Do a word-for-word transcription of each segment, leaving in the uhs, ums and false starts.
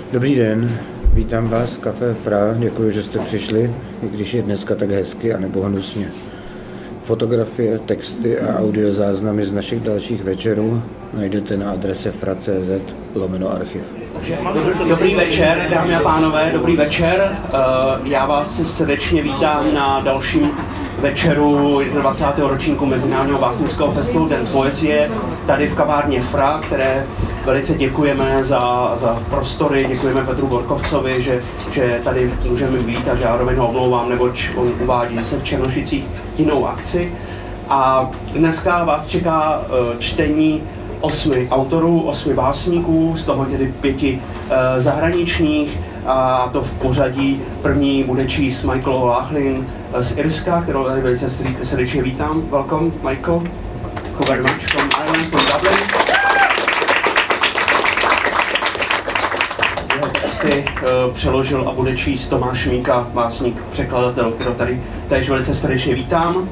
Dobrý den, vítám vás v Café Fra, děkuji, že jste přišli, i když je dneska tak hezky a nebo hnusně. Fotografie, texty a audiozáznamy z našich dalších večerů najdete na adrese fra tečka cé zet lomeno archiv. Dobrý večer, dámy a pánové, dobrý večer. Já vás srdečně vítám na dalším večeru dvacátého ročníku Mezinárodního básnického festivalu Den poezie tady v kavárně Fra, které velice děkujeme za, za prostory, děkujeme Petru Borkovcovi, že, že tady můžeme být a zároveň ho omlouvám, neboť on uvádí zase v Černošicích jinou akci. A dneska vás čeká čtení osmi autorů, osmi básníků, z toho tedy pěti e, zahraničních, a to v pořadí. První bude číst Michael O'Loughlin z Irska, kterou tady velice srdečně vítám. Welcome, Michael. Thank you very much from Ireland, from Dublin. Jeho texty e, přeložil a bude číst Tomáš Míka, básník, překladatel, kterou tady též velice srdečně vítám.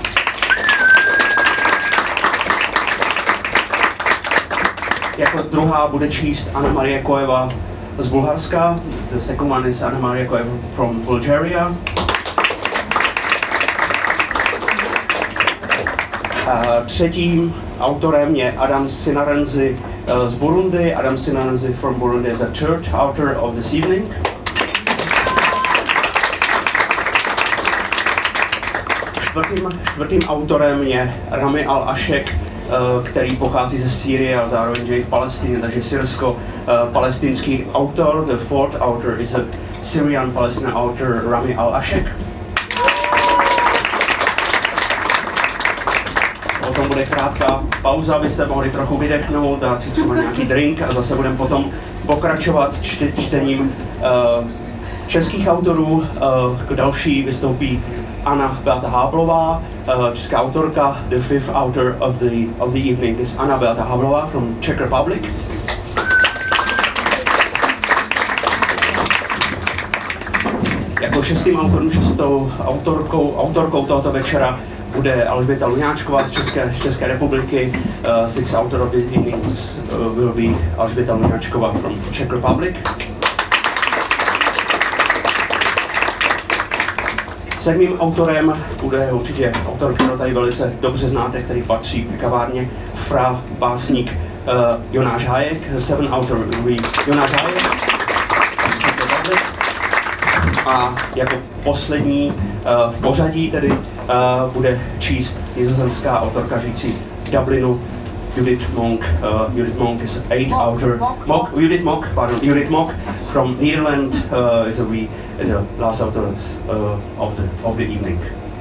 Jako druhá bude číst Anna Marie Koeva z Bulharska. The second one is Anna Marie Koeva from Bulgaria. A třetím autorem je Adam Sinarenzi z Burundi. Adam Sinarenzi from Burundi is a third author of this evening. Čtvrtým, čtvrtým autorem je Rami Al-Ashek, který pochází ze Sýrie a zároveň je v Palestině, takže syrsko-palestinský autor. The fourth author is a Syrian-Palestinian author, Rami Al-Ashek. Potom bude krátká pauza, abyste mohli trochu vydechnout, dát si třeba nějaký drink a zase budeme potom pokračovat čte, čtením uh, českých autorů. Uh, k další vystoupí Anna Beata Háblová, uh, česká autorka. The fifth author of the of the evening is Anna Beata Háblová from Czech Republic. Jako šestým autorem, šestou autorkou, autorkou tohoto večera bude Alžběta Luňáčková z České, z České republiky. Uh, sixth author of the evening uh, will be Alžběta Luňáčková from Czech Republic. Sedmým autorem bude určitě autor, kterého tady velice dobře znáte, který patří k kavárně Fra, básník uh, Jonáš Hájek. Seven author will be Jonáš Hájek. A jako poslední uh, v pořadí tedy uh, bude číst nizozemská autorka žijící v Dublinu, Judith Monk. Uh, Judith Monk is eight author. Mock, Judith Mock, pardon, Judith Mock from Netherlands uh, is a we the last author uh, of the of the evening.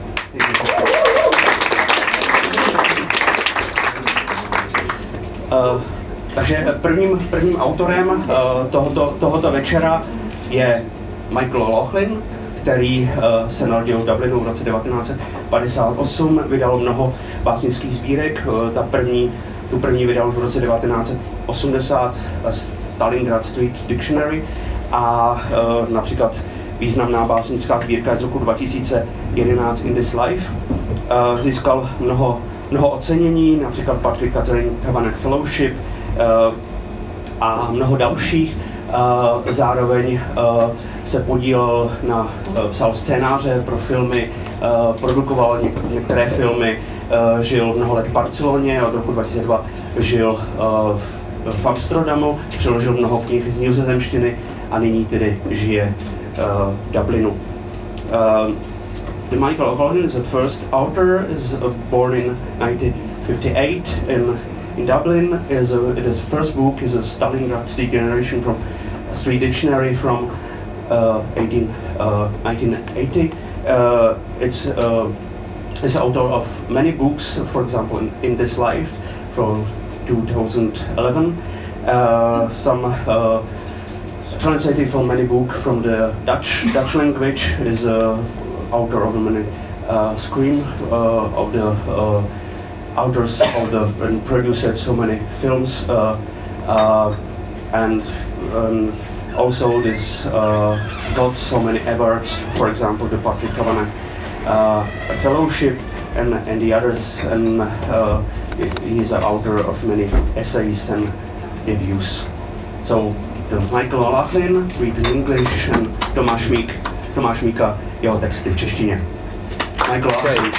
Uh, takže prvním prvním autorem uh, tohoto tohoto večera je Michael O'Loughlin, který uh, se narodil v Dublinu v roce devatenáct set padesát osm, vydal mnoho básnických sbírek. Uh, ta první, tu první vydal v roce devatenáct set osmdesát uh, Stalingrad Street Dictionary a uh, například významná básnická sbírka z roku dva tisíce jedenáct In This Life. Uh, získal mnoho, mnoho ocenění, například Patrick Catherine Kavanagh Fellowship uh, a mnoho dalších. Uh, zároveň uh, se podílel na, uh, psal scénáře pro filmy, uh, produkoval něk- některé filmy, uh, žil mnoho let v Barceloně, od roku dva tisíce dva žil uh, v, v Amsterdamu, přeložil mnoho knih z nizozemštiny a nyní tedy žije uh, v Dublinu. Uh, the Michael O'Loughlin is the first author, is uh, born in nineteen fifty-eight in in Dublin. Is a, it is first book is a Stalingrad Street Generation from a Street Dictionary from uh, eighteen, uh, nineteen eighty. Uh, it's uh, is author of many books, for example, in, in This Life from two thousand eleven. Uh, some uh, translated from many books from the Dutch Dutch language. Is uh, author of many uh, Scream uh, of the. Uh, authors of the and produced so many films uh, uh, and um, also this uh, got so many awards, for example the Patrick Kavanagh uh, Fellowship and, and the others, and uh, he is an author of many essays and reviews. So Michael O'Loughlin, Read in English, and Tomáš Mík, Tomáš Míka, jeho texty v češtině. Michael O'Loughlin. Okay.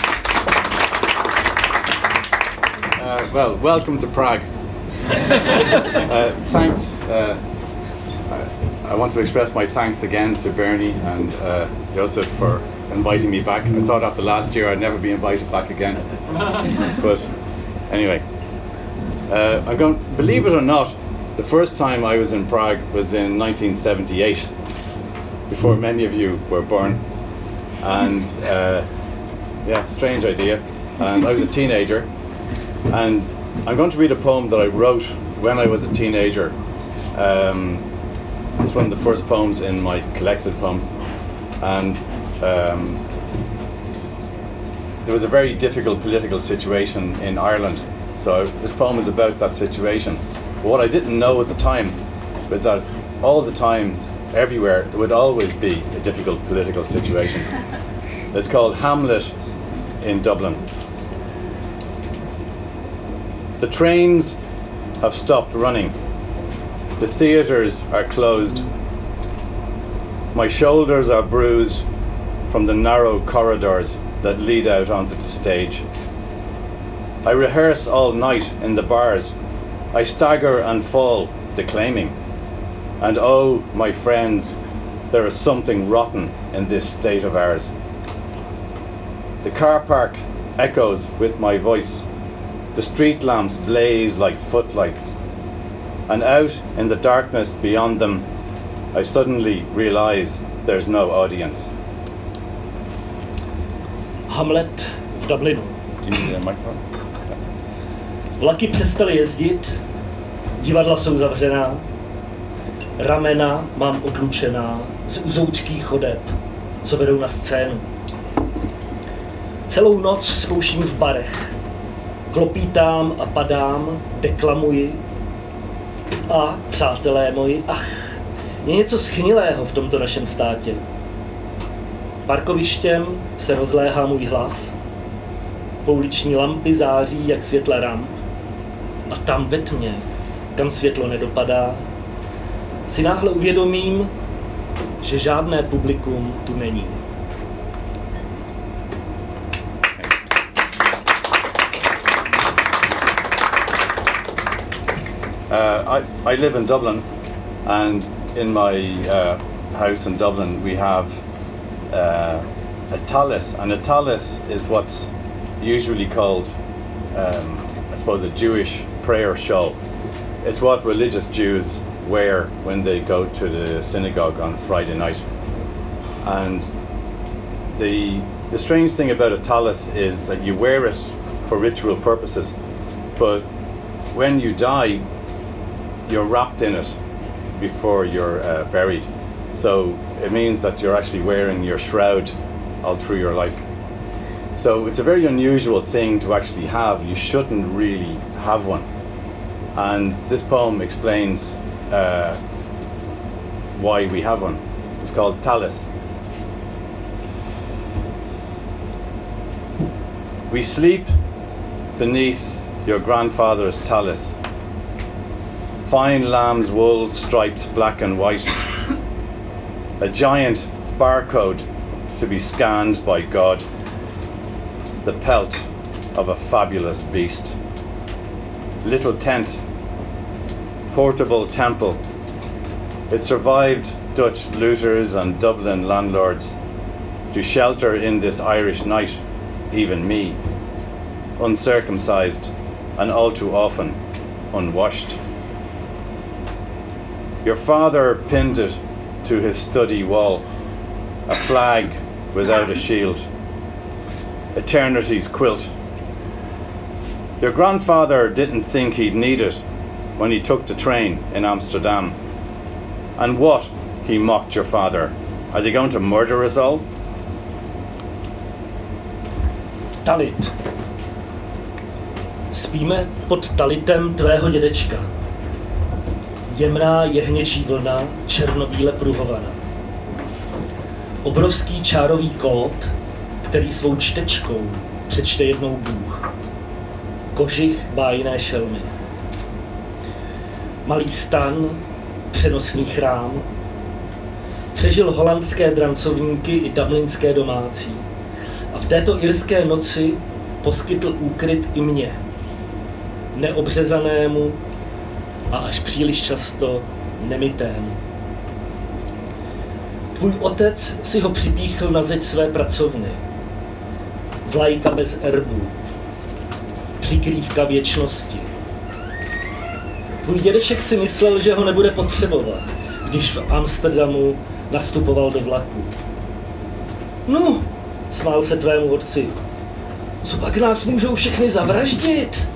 Uh, well, welcome to Prague. uh, thanks. Uh, I want to express my thanks again to Bernie and uh, Joseph for inviting me back. I thought after last year I'd never be invited back again. But anyway, uh, I'm going. Believe it or not, the first time I was in Prague was in nineteen seventy-eight, before many of you were born. And uh, yeah, strange idea. And I was a teenager. And I'm going to read a poem that I wrote when I was a teenager. Um, it's one of the first poems in my collected poems. And um, there was a very difficult political situation in Ireland. So this poem is about that situation. But what I didn't know at the time was that all the time, everywhere, it would always be a difficult political situation. It's called Hamlet in Dublin. The trains have stopped running. The theatres are closed. My shoulders are bruised from the narrow corridors that lead out onto the stage. I rehearse all night in the bars. I stagger and fall, declaiming. And oh, my friends, there is something rotten in this state of ours. The car park echoes with my voice. The street lamps blaze like footlights. And out in the darkness beyond them, I suddenly realize there's no audience. Hamlet v Dublinu. Do you need a microphone? Vlaky přestaly jezdit, divadla jsou zavřená, ramena mám odlučená z uzoučkých chodeb, co vedou na scénu. Celou noc zkouším v barech, klopítám a padám, deklamuji a, přátelé moji, ach, je něco schnilého v tomto našem státě. Parkovištěm se rozléhá můj hlas, pouliční lampy září jak světla ramp a tam ve tmě, kam světlo nedopadá, si náhle uvědomím, že žádné publikum tu není. Uh, I, I live in Dublin, and in my uh, house in Dublin we have uh, a talith, and a talith is what's usually called, um, I suppose, a Jewish prayer shawl. It's what religious Jews wear when they go to the synagogue on Friday night. And the the strange thing about a talith is that you wear it for ritual purposes, but when you die, you're wrapped in it before you're uh, buried. So it means that you're actually wearing your shroud all through your life. So it's a very unusual thing to actually have. You shouldn't really have one. And this poem explains uh, why we have one. It's called Talith. We sleep beneath your grandfather's talith. Fine lamb's wool striped black and white. A giant barcode to be scanned by God. The pelt of a fabulous beast. Little tent. Portable temple. It survived Dutch looters and Dublin landlords to shelter in this Irish night, even me, uncircumcised and all too often unwashed. Your father pinned it to his study wall, a flag without a shield, eternity's quilt. Your grandfather didn't think he'd need it when he took the train in Amsterdam. And what, he mocked your father, are they going to murder us all? Talit. Spíme pod talitem tvého dědečka. Jemná jehněčí vlna, černobíle pruhovaná. Obrovský čárový kód, který svou čtečkou přečte jednou Bůh. Kožich bájné šelmy. Malý stan, přenosný chrám. Přežil holandské drancovníky i dublinské domácí. A v této irské noci poskytl úkryt i mně, neobřezanému a až příliš často nemytému. Tvůj otec si ho připíchl na zeď své pracovny. Vlajka bez erbů. Přikrývka věčnosti. Tvůj dědeček si myslel, že ho nebude potřebovat, když v Amsterdamu nastupoval do vlaku. No, smál se tvému otci. Co pak nás můžou všechny zavraždit?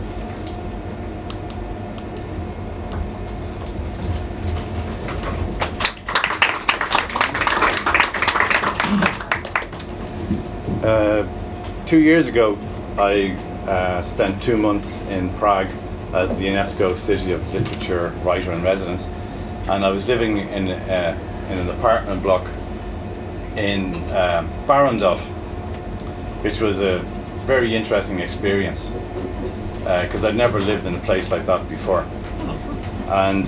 Uh, two years ago, I uh, spent two months in Prague as the UNESCO City of Literature Writer in Residence, and I was living in, uh, in an apartment block in uh, Barrandov, which was a very interesting experience because uh, I'd never lived in a place like that before. And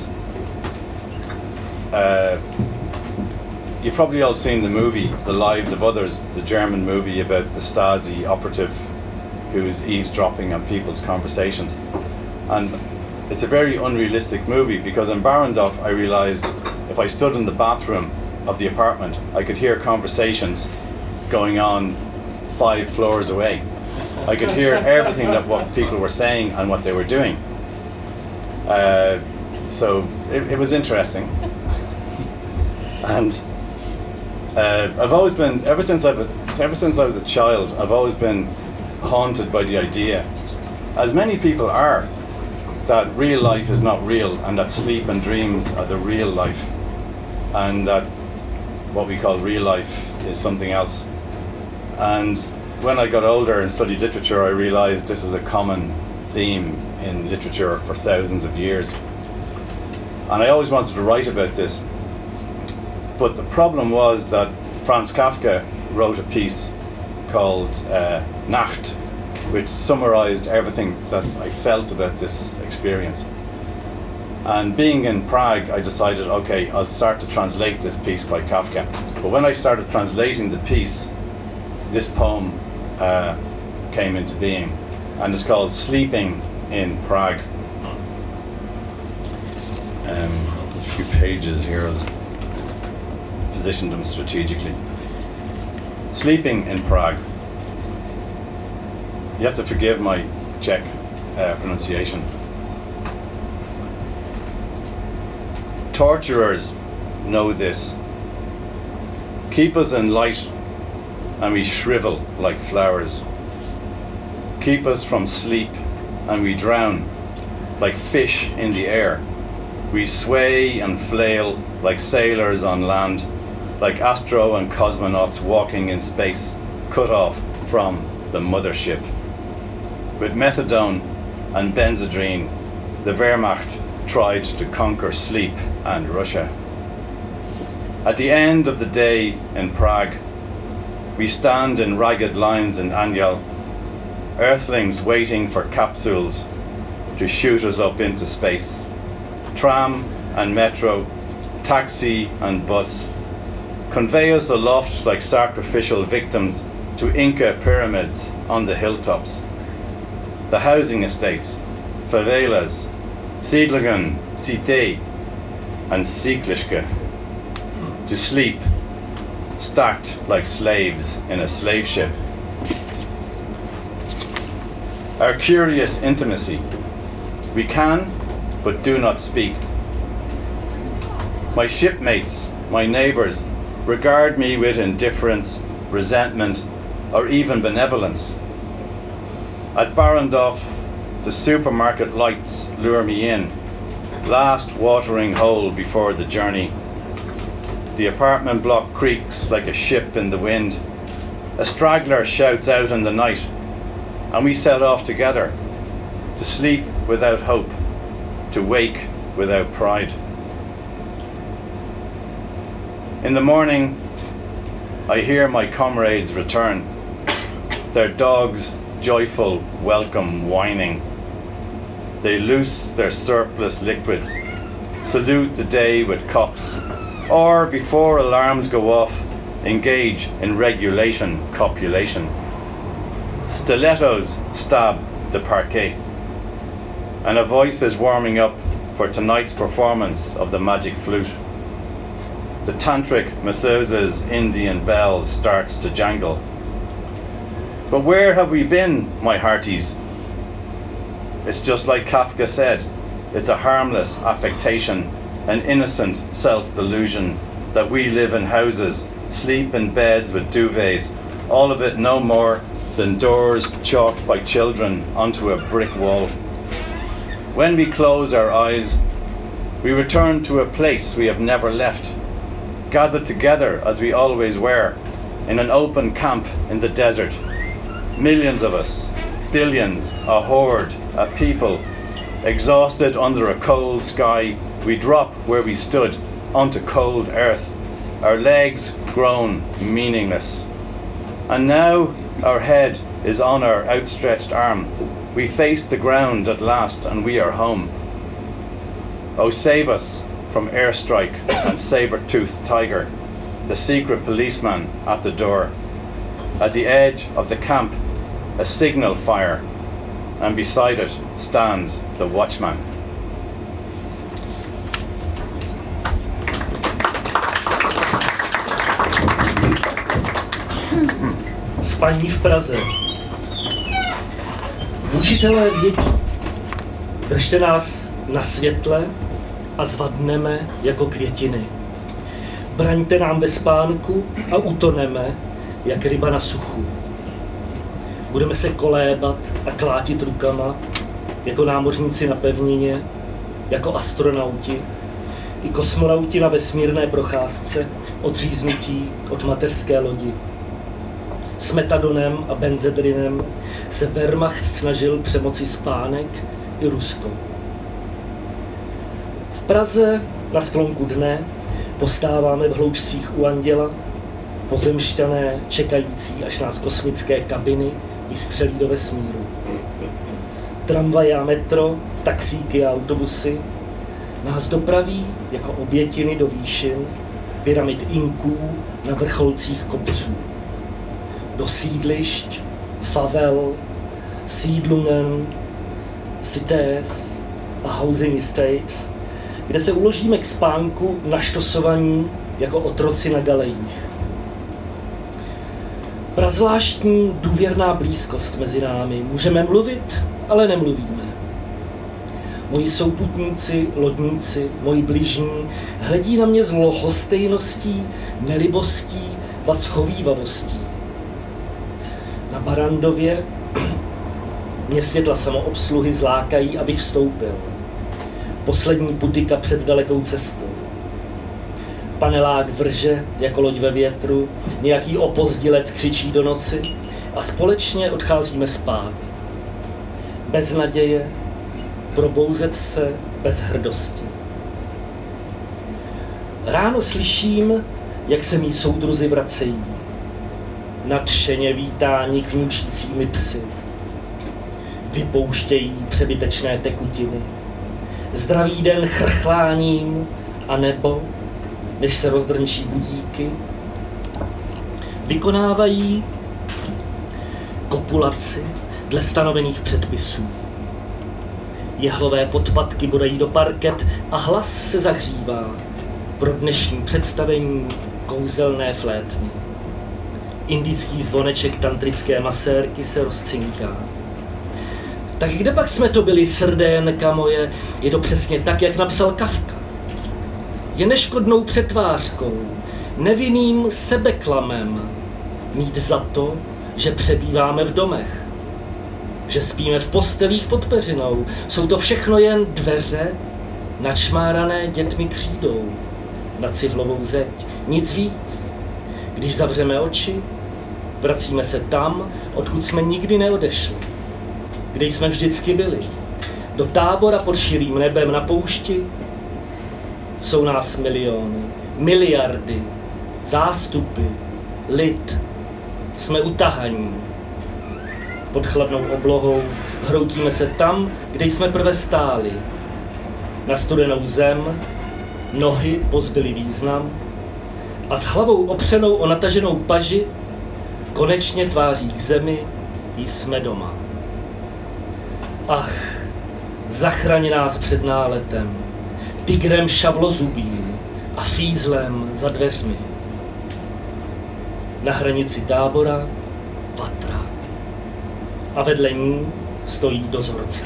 uh, you've probably all seen the movie The Lives of Others, the German movie about the Stasi operative who's eavesdropping on people's conversations. And it's a very unrealistic movie because in Barrandov I realised if I stood in the bathroom of the apartment I could hear conversations going on five floors away. I could hear everything that what people were saying and what they were doing. Uh, so it, it was interesting. And uh, I've always been, ever since I've, ever since I was a child, I've always been haunted by the idea, as many people are, that real life is not real and that sleep and dreams are the real life, and that what we call real life is something else. And when I got older and studied literature, I realized this is a common theme in literature for thousands of years. And I always wanted to write about this. But the problem was that Franz Kafka wrote a piece called uh, Nacht, which summarized everything that I felt about this experience. And being in Prague, I decided, okay, I'll start to translate this piece by Kafka. But when I started translating the piece, this poem uh, came into being, and it's called Sleeping in Prague. Um, a few pages here, I'll position them strategically. Sleeping in Prague. You have to forgive my Czech uh, pronunciation. Torturers know this. Keep us in light and we shrivel like flowers. Keep us from sleep and we drown like fish in the air. We sway and flail like sailors on land, like astro and cosmonauts walking in space, cut off from the mothership. With methadone and benzodrine, the Wehrmacht tried to conquer sleep and Russia. At the end of the day in Prague, we stand in ragged lines in Anjal, earthlings waiting for capsules to shoot us up into space. Tram and metro, taxi and bus, convey us aloft like sacrificial victims to Inca pyramids on the hilltops. The housing estates, favelas, Siedlungen, Cité, and Siedlischke, to sleep, stacked like slaves in a slave ship. Our curious intimacy, we can, but do not speak. My shipmates, my neighbours, regard me with indifference, resentment, or even benevolence. At Barrandov, the supermarket lights lure me in, last watering hole before the journey. The apartment block creaks like a ship in the wind. A straggler shouts out in the night, and we set off together, to sleep without hope, to wake without pride. In the morning, I hear my comrades return, their dogs joyful welcome whining. They loose their surplus liquids, salute the day with cuffs, or before alarms go off, engage in regulation copulation. Stilettos stab the parquet, and a voice is warming up for tonight's performance of the magic flute. The tantric masseuse's Indian bell starts to jangle. But where have we been, my hearties? It's just like Kafka said, it's a harmless affectation, an innocent self-delusion that we live in houses, sleep in beds with duvets, all of it no more than doors chalked by children onto a brick wall. When we close our eyes, we return to a place we have never left, gathered together as we always were, in an open camp in the desert. Millions of us, billions, a horde, a people, exhausted under a cold sky, we drop where we stood onto cold earth, our legs grown meaningless. And now our head is on our outstretched arm. We face the ground at last and we are home. Oh, save us from airstrike and saber-toothed tiger, the secret policeman at the door. At the edge of the camp, a signal fire, and beside it stands the watchman. Spaní v Praze. Učitelé vědí, držte nás na světle a zvadneme jako květiny. Braňte nám ve spánku a utoneme, jak ryba na suchu. Budeme se kolébat a klátit rukama, jako námořníci na pevnině, jako astronauti, i kosmonauti na vesmírné procházce, odříznutí od mateřské lodi. S metadonem a benzedrinem se Wehrmacht snažil přemoci spánek i Rusko. V Praze na sklonku dne postáváme v hloučcích u anděla, pozemšťané čekající, až nás kosmické kabiny vystřelí do vesmíru. Tramvaje a metro, taxíky a autobusy nás dopraví jako obětiny do výšin, pyramid Inků na vrcholcích kopců. Do sídlišť, favel, Siedlungen, cités a housing estates, kde se uložíme k spánku naštosovaní jako otroci na galejích. Prazvláštní důvěrná blízkost mezi námi. Můžeme mluvit, ale nemluvíme. Moji souputníci, lodníci, moji bližní hledí na mě s lhostejností, nelibostí a schovívavostí. Na Barandově mě světla samoobsluhy zlákají, abych vstoupil. Poslední putika před dalekou cestou. Panelák vrže jako loď ve větru, nějaký opozdilec křičí do noci a společně odcházíme spát. Bez naděje, probouzet se bez hrdosti. Ráno slyším, jak se mí soudruzi vracejí. Nadšeně vítáni kňučícími psy. Vypouštějí přebytečné tekutiny. Zdravý den chrchláním a nebo, než se rozdrnčí budíky, vykonávají kopulaci dle stanovených předpisů. Jehlové podpatky bodají do parket a hlas se zahřívá pro dnešní představení kouzelné flétny. Indický zvoneček tantrické masérky se rozcinká. Tak kde pak jsme to byli, srdénka moje? Je to přesně tak, jak napsal Kafka. Je neškodnou přetvářkou, nevinným sebeklamem mít za to, že přebýváme v domech, že spíme v postelích pod peřinou. Jsou to všechno jen dveře načmárané dětmi křídou na cihlovou zeď. Nic víc. Když zavřeme oči, vracíme se tam, odkud jsme nikdy neodešli, kde jsme vždycky byli. Do tábora pod širým nebem na poušti. Jsou nás miliony, miliardy, zástupy, lid. Jsme utahaní. Pod chladnou oblohou hroutíme se tam, kde jsme prve stáli. na studenou zem, nohy pozbyly význam a s hlavou opřenou o nataženou paži konečně tváří k zemi jsme doma. Ach, zachraň nás před náletem, tigrem šavlozubým a fízlem za dveřmi. Na hranici tábora vatra a vedle ní stojí dozorce.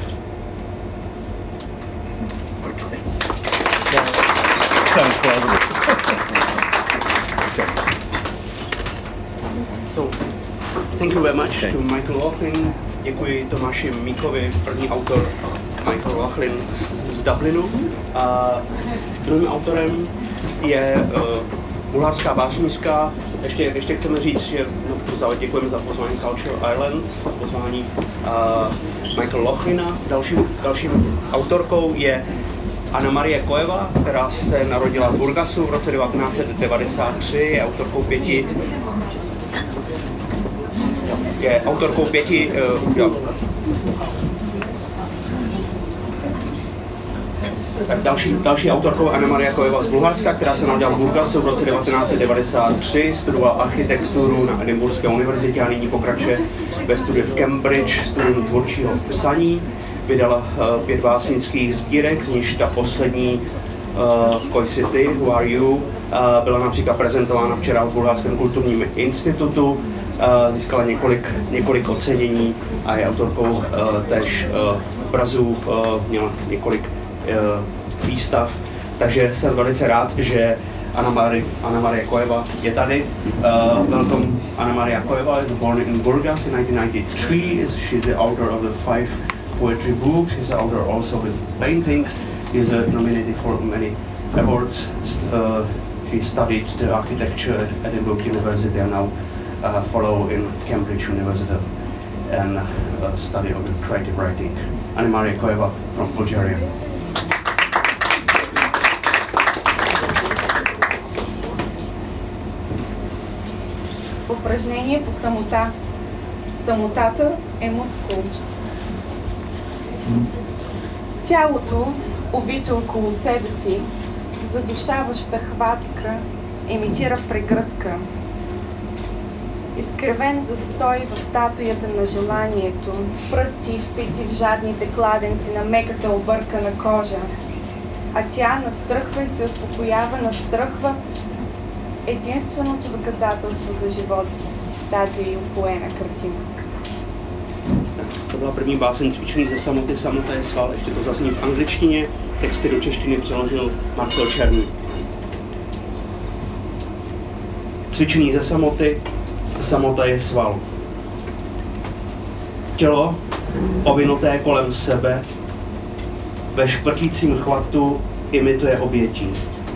Sounds plausible. So, thank you very much to Michael Laughlin. Děkuji Tomáši Míkovi, první autor Michael Laughlin z, z Dublinu. A druhým autorem je uh, bulharská básnířka. Ještě, ještě chceme říct, že no, děkujeme za pozvání Culture Island, za pozvání uh, Michael Laughlina. Dalším, dalším autorkou je Anna Marie Koeva, která se narodila v Burgasu v roce devatenáct set devadesát tři, je autorkou pěti je autorkou pěti uh, jo. Tak další, další autorkou Anna Maria Koeva z Bulharska, která se narodila v Burgasu v roce devatenáct set devadesát tři, studovala architekturu na Edinburghské univerzitě a nyní pokračuje ve studiu v Cambridge, studium tvůrčího psaní. Vydala uh, pět básnických sbírek, z níž ta poslední uh, Koi City, Who Are You, uh, byla například prezentována včera v Bulharském kulturním institutu, uh, získala několik, několik ocenění a je autorkou uh, též uh, obrazů, uh, měla několik uh, výstav, takže jsem velice rád, že Anna Maria, Anna Maria Koeva je tady. Uh, welcome Anna Maria Koeva, is born in Burgas in nineteen ninety-three. She's the author of the five poetry books. She's the author also with paintings. She's uh, nominated for many awards. Uh, she studied the architecture at Edinburgh University and now uh, follow in Cambridge University and uh, study of the creative writing. Anna Maria Koeva from Bulgaria. Упражнение по самота. Самотата е мускул. Тялото, увито около себе си, задушаваща хватка, имитира прегръдка. Изкривен застой в статуята на желанието, пръсти впити в жадните кладенци на меката объркана кожа. А тя настръхва и се успокоява, настръхва единственото доказателство за живот, тази упоена картина. To byla první báseň Cvičený ze samoty, samota je sval, ještě to zazní v angličtině, texty do češtiny přeložil Marcel Černý. Cvičený ze samoty, samota je sval. Tělo, ovinuté kolem sebe, ve šprtícím chvatu imituje obětí.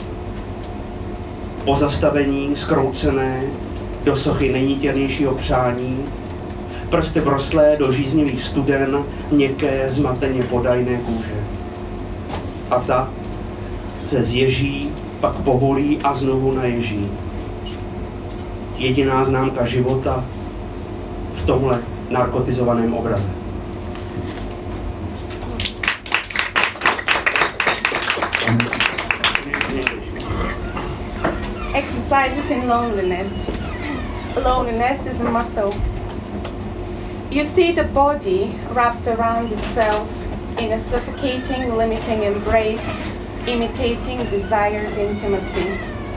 Pozastavení, zkroucené, do sochy nejnítěrnějšího přání, prsty vrostlé do žíznivých studen, měkké, zmateně podajné kůže. A ta se zježí, pak povolí a znovu naježí. Jediná známka života v tomhle narkotizovaném obraze. Exercises in loneliness. Loneliness is a muscle. You see the body wrapped around itself in a suffocating, limiting embrace, imitating desired intimacy.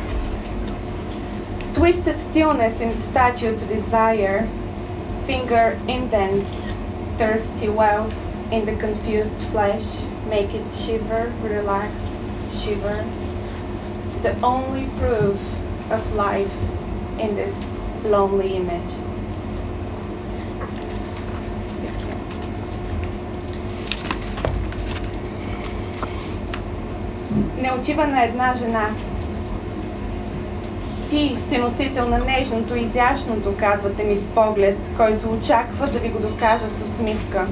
Twisted stillness in the statue to desire, finger indents, thirsty wells in the confused flesh, make it shiver, relax, shiver. The only proof of life in this lonely image. Не отива на една жена. Ти си носител на нежното и изящното, казвате ми с поглед, който очаква да ви го докажа с усмивка.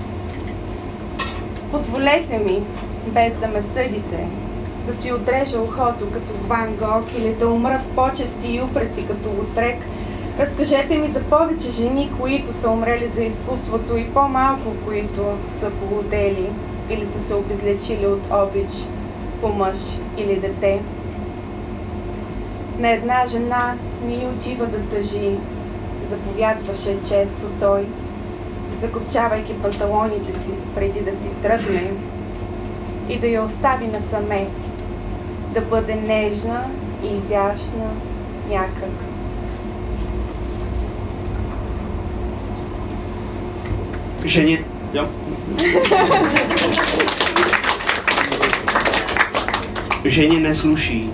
Позволете ми, без да ме съдите, да си отрежа ухото като Ван Гог или да умра в почести и упреци като Лотрек. Разкажете ми за повече жени, които са умрели за изкуството и по-малко, които са полудели. или са се обезлечили от обич по мъж или дете. На една жена не й отива да тъжи, заповядваше често той, закопчавайки панталоните си преди да си тръгне и да я остави насаме, да бъде нежна и изящна някак. Женě, jo. Ženě nesluší.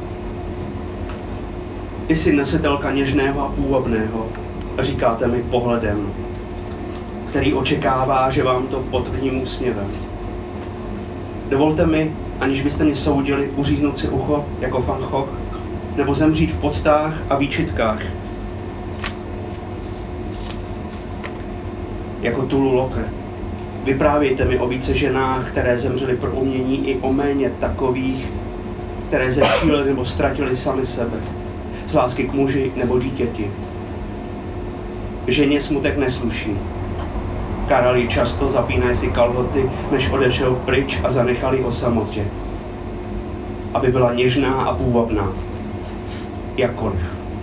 Ty jsi nesitelka něžného a půvabného, říkáte mi pohledem, který očekává, že vám to potvrdím úsměvem. Dovolte mi, aniž byste mě soudili, uříznout si ucho jako Van Gogh, nebo zemřít v poctách a výčitkách, jako Tulu Loke. Vyprávějte mi o více ženách, které zemřely pro umění, i o méně takových, které zešílely nebo ztratily sami sebe, z lásky k muži nebo dítěti. Ženě smutek nesluší. Karali často zapínají si kalhoty, než odešel pryč a zanechali o samotě, aby byla něžná a půvabná, jakkoliv.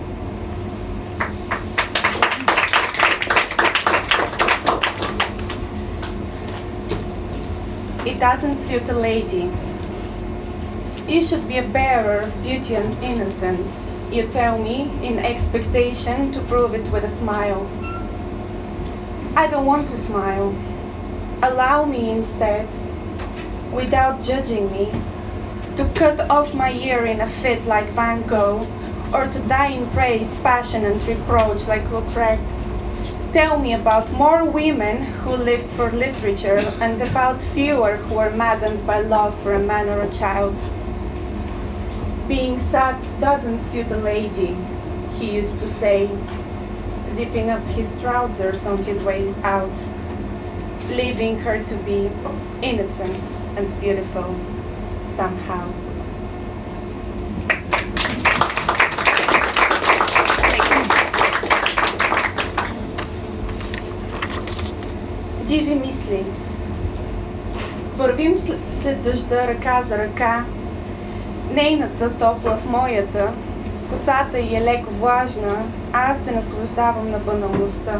It doesn't suit a lady. You should be a bearer of beauty and innocence, you tell me, in expectation to prove it with a smile. I don't want to smile. Allow me instead, without judging me, to cut off my ear in a fit like Van Gogh, or to die in praise, passion and reproach like Lautrec. Tell me about more women who lived for literature and about fewer who were maddened by love for a man or a child. Being sad doesn't suit a lady, he used to say, zipping up his trousers on his way out, leaving her to be innocent and beautiful somehow. Диви мисли. Вървим след дъжда ръка за ръка, нейната топла в моята, косата й е леко влажна, а аз се наслаждавам на баналността.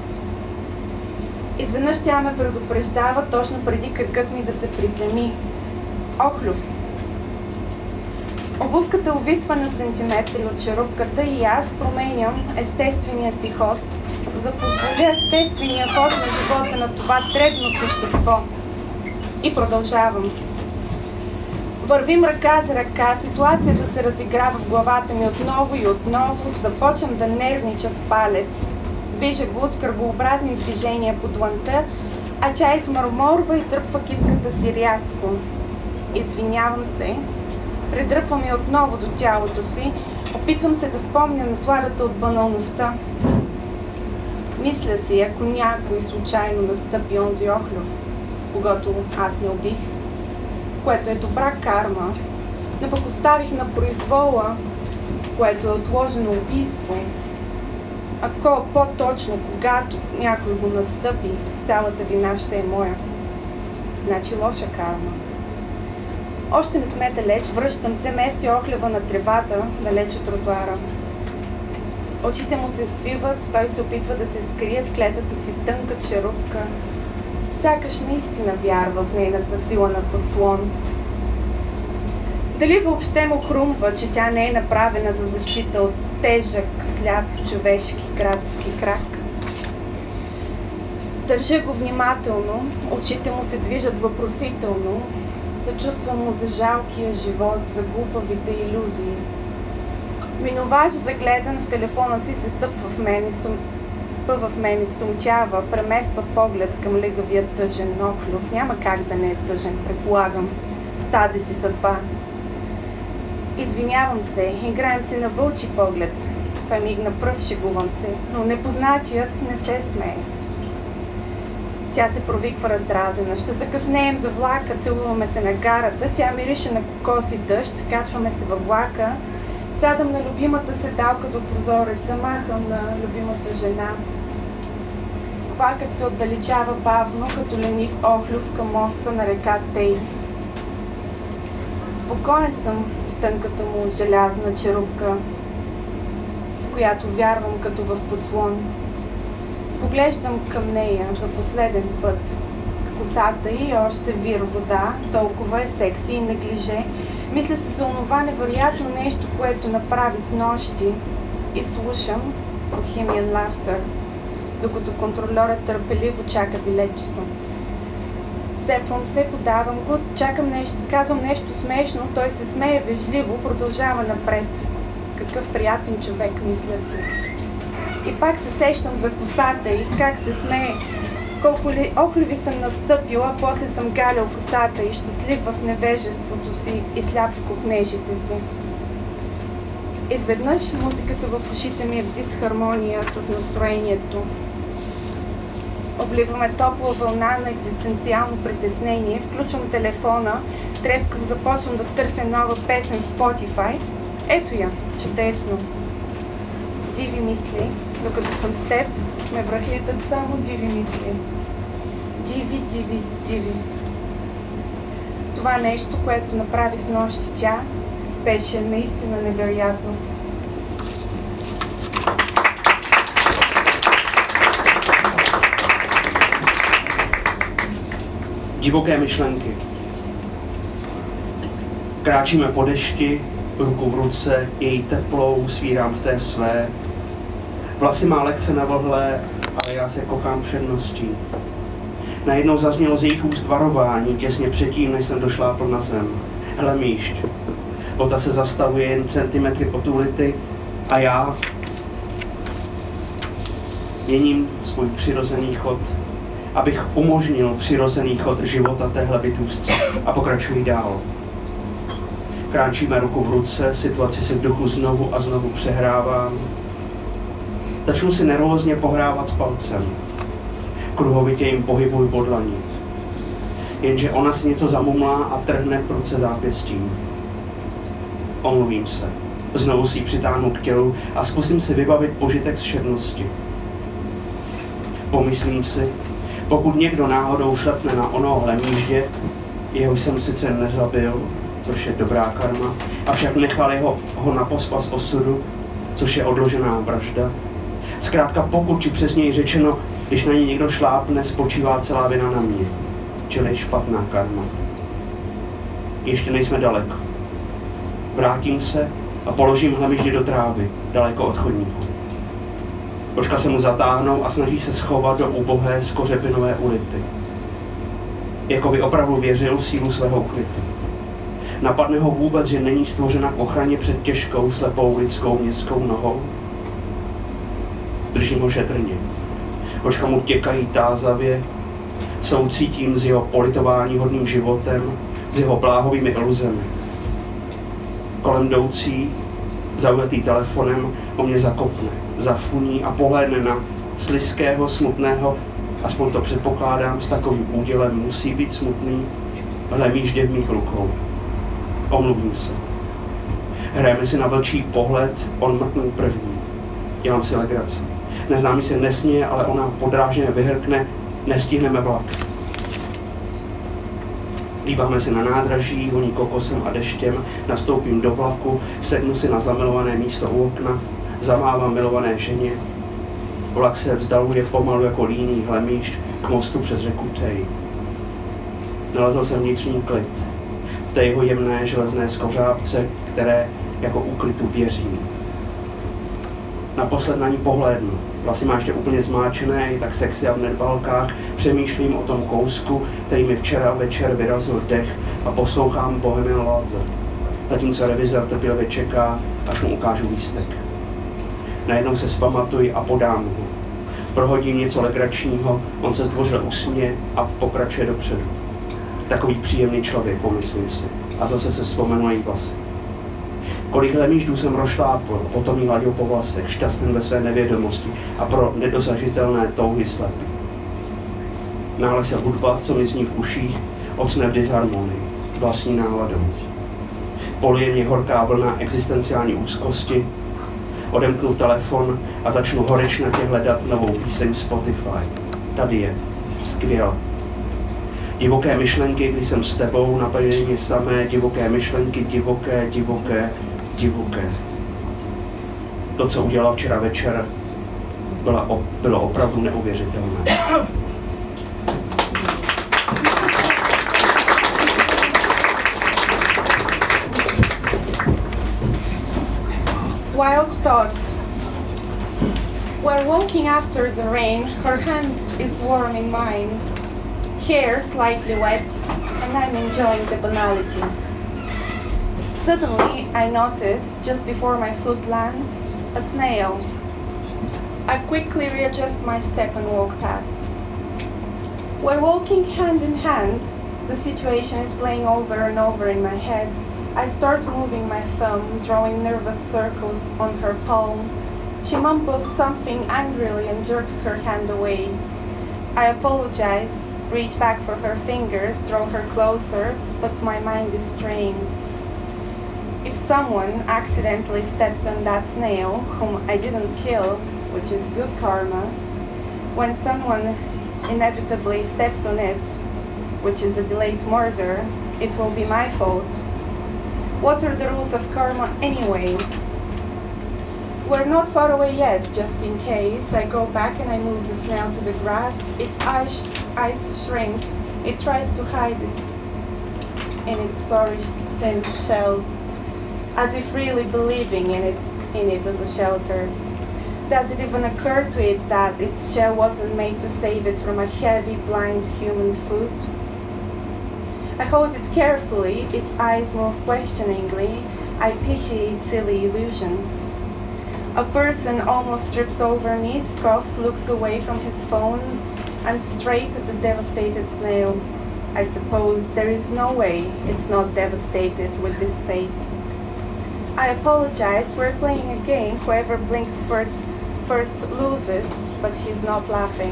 Изведнъж тя ме предупреждава точно преди кракът ми да се приземи. Охлюв. Обувката увисва на сантиметри от черупката и аз променям естествения си ход, за да позволя естествения ход на живота на това дребно същество. И продължавам. Вървим ръка за ръка, ситуацията се разиграва в главата ми отново и отново, започвам да нервнича с палец. Вижда го с кръгообразни движения по дланта, а тя измърморва и дръпва китката си рязко. Извинявам се, придръпвам я отново до тялото си, опитвам се да спомня насладата от баналността. Мисля си, ако някой случайно настъпи онзи Охлюв, когато аз не убих, което е добра карма, но пък оставих на произвола, което е отложено убийство. Ако по-точно, когато някой го настъпи, цялата вина ще е моя. Значи лоша карма. Още не сме далеч, връщам се, мести Охлева на тревата, далеч от тротуара. Очите му се свиват, той се опитва да се скрие в клетата си тънка черупка. Сякаш наистина вярва в нейната сила на подслон. Дали въобще му хрумва, че тя не е направена за защита от тежък, сляп, човешки, градски крак? Държа го внимателно, очите му се движат въпросително, съчувствам му за жалкия живот, за глупавите илюзии. Минувач, загледан в телефона си, се стъпва в мен и сум... спъва в мен и сумтява, премества поглед към легавия тъжен Охлюв. Няма как да не е тъжен, предполагам, с тази си съдба. Извинявам се, играем се на вълчи поглед. Той мигна пръв, шегувам се, но непознатият не се смее. Тя се провиква раздразена. Ще закъснеем за влака, целуваме се на гарата, тя мирише на кокос и дъжд, качваме се във влака, сядам на любимата седалка до прозореца, махам на любимата жена. Влакът се отдалечава бавно, като ленив охлюв към моста на река Тей. Спокоен съм в тънката му желязна черупка, в която вярвам като в подслон. Поглеждам към нея за последен път. Косата й още вир вода, толкова е секси и неглиже. Мисля се за онова невероятно нещо, което направи с нощи, и слушам Bohemian Laughter, докато контролерът търпеливо чака билетчето. Сепвам се, подавам го, чакам нещо, казвам нещо смешно, той се смее вежливо, продължава напред. Какъв приятен човек, мисля си. И пак се сещам за косата и как се смее. Колко ли охливи съм настъпила, после съм галял косата и щастлив в невежеството си и сляп в копнежите си. Изведнъж музиката в ушите ми е в дисхармония с настроението. Обливаме топла вълна на екзистенциално притеснение, включвам телефона, трескав започвам да търся нова песен в Spotify. Ето я, чудесно. Диви мисли, докато съм с теб, ме връхлитат само диви мисли. Диви, диви, диви. Това нещо, което направи с нощи тя, беше наистина невероятно. Divoké myšlenky. Kráčíme po dešti, ruku v ruce, její teplou svírám v té své. Vlasy má lehce navlhlé, ale já se kochám všedností. Najednou zaznělo z jejich úst varování, těsně předtím, než jsem došlápl na zem. Hlemíšť. Bota se zastavuje jen centimetry pod ulity a já měním svůj přirozený chod, abych umožnil přirozený chod života téhle bytůstce a pokračuji dál. Kráčíme ruku v ruce, situaci si v duchu znovu a znovu přehrávám. Začnu si nervózně pohrávat s palcem. Kruhovitě jim pohybuji po dlaní. Jenže ona si něco zamumlá a trhne pruce zápěstím. Omluvím se. Znovu si ji přitáhnu k tělu a zkusím si vybavit požitek z všednosti. Pomyslím si, pokud někdo náhodou šlepne na ono hlemíždě, jeho jsem sice nezabil, což je dobrá karma, avšak nechal jeho, ho na pospas osudu, což je odložená vražda. Zkrátka pokud, či přesněji řečeno, když na ní někdo šlápne, spočívá celá vina na mě, čili špatná karma. Ještě nejsme daleko. Vrátím se a položím hlemíždě do trávy, daleko od chodníku. Očka se mu zatáhnou a snaží se schovat do ubohé skořepinové ulity. Jako by opravdu věřil v sílu svého ukrytu. Napadne ho vůbec, že není stvořena k ochraně před těžkou, slepou lidskou městskou nohou? Držím ho šetrně. Očka mu těkají tázavě, soucítím s jeho politováníhodným životem, s jeho bláhovými iluzemi. Kolem jdoucí, zaujatý telefonem, o mě zakopne, zafuní a pohlédne na slizkého, smutného, aspoň to předpokládám, s takovým údělem musí být smutný, hlemíždě v mých rukou. Omluvím se. Hrajeme si na vlčí pohled, on mrknul první. Dělám si legraci. Neznámý se nesměje, ale ona podráženě vyhrkne, nestihneme vlak. Líbáme se na nádraží, voní kokosem a deštěm, nastoupím do vlaku, sednu si na zamilované místo u okna, zamávám milované ženě. Vlak se vzdaluje pomalu jako líný hlemíšť k mostu přes řeku Tej. Nalezl jsem vnitřní klid, v té jeho jemné železné skořápce, které jako úklitu věřím. Naposled na ní pohlédnu. Vlasy má ještě úplně zmáčené, je tak sexy a v nedbalkách. Přemýšlím o tom kousku, který mi včera večer vyrazil dech a poslouchám Bohemian Laughter. Zatímco revizor trpělivě čeká, až mu ukážu lístek. Najednou se zpamatuji a podám ho. Prohodím něco legračního, on se zdvořile usměje a pokračuje dopředu. Takový příjemný člověk, pomyslím si. A zase se vzpomenu na její vlasy. Kolik hlemíždů jsem rozšlápl, potom jí hladil po vlasech, šťastný ve své nevědomosti a pro nedosažitelné touhy slepý. Náhle se hudba, co mi zní v uších, ocne v disharmonii, vlastní náladou. Polije mě horká vlna existenciální úzkosti, odemknu telefon a začnu horečnatě hledat novou píseň Spotify. tady je. Skvěle. Divoké myšlenky, když jsem s tebou, napadly mě samé divoké myšlenky, divoké, divoké, divoké. To, co udělal včera večer, bylo, bylo opravdu neuvěřitelné. Wild thoughts. We're walking after the rain, her hand is warm in mine, hair slightly wet, and I'm enjoying the banality. Suddenly, I notice, just before my foot lands, a snail. I quickly readjust my step and walk past. We're walking hand in hand. The situation is playing over and over in my head. I start moving my thumb, drawing nervous circles on her palm. She mumbles something angrily and jerks her hand away. I apologize, reach back for her fingers, draw her closer, but my mind is strained. If someone accidentally steps on that snail, whom I didn't kill, which is good karma, when someone inevitably steps on it, which is a delayed murder, it will be my fault. What are the rules of karma anyway? We're not far away yet, just in case. I go back and I move the snail to the grass. Its eyes, eyes shrink. It tries to hide it in its sorry thin shell, as if really believing in it, in it as a shelter. Does it even occur to it that its shell wasn't made to save it from a heavy, blind human foot? I hold it carefully, its eyes move questioningly. I pity its silly illusions. A person almost trips over me, scoffs, looks away from his phone, and straight at the devastated snail. I suppose there is no way it's not devastated with this fate. I apologize, we're playing a game. Whoever blinks first, first loses, but he's not laughing.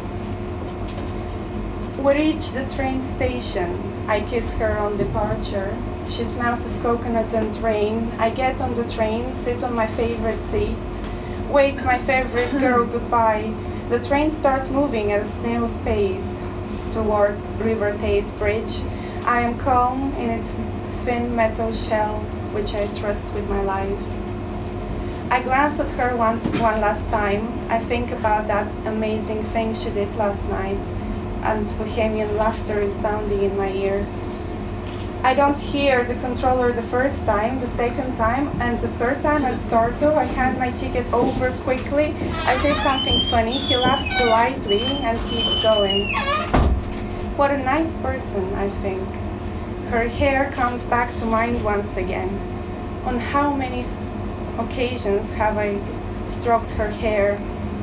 We reach the train station. I kiss her on departure. She smells of coconut and rain. I get on the train, sit on my favorite seat, wave my favorite girl goodbye. The train starts moving at a snail's pace towards River Thames Bridge. I am calm in its thin metal shell, which I trust with my life. I glance at her once, one last time. I think about that amazing thing she did last night, and bohemian laughter is sounding in my ears. I don't hear the controller the first time, the second time, and the third time I start to. I hand my ticket over quickly. I say something funny. He laughs politely and keeps going. What a nice person, I think. Her hair comes back to mind once again. On how many occasions have I stroked her hair?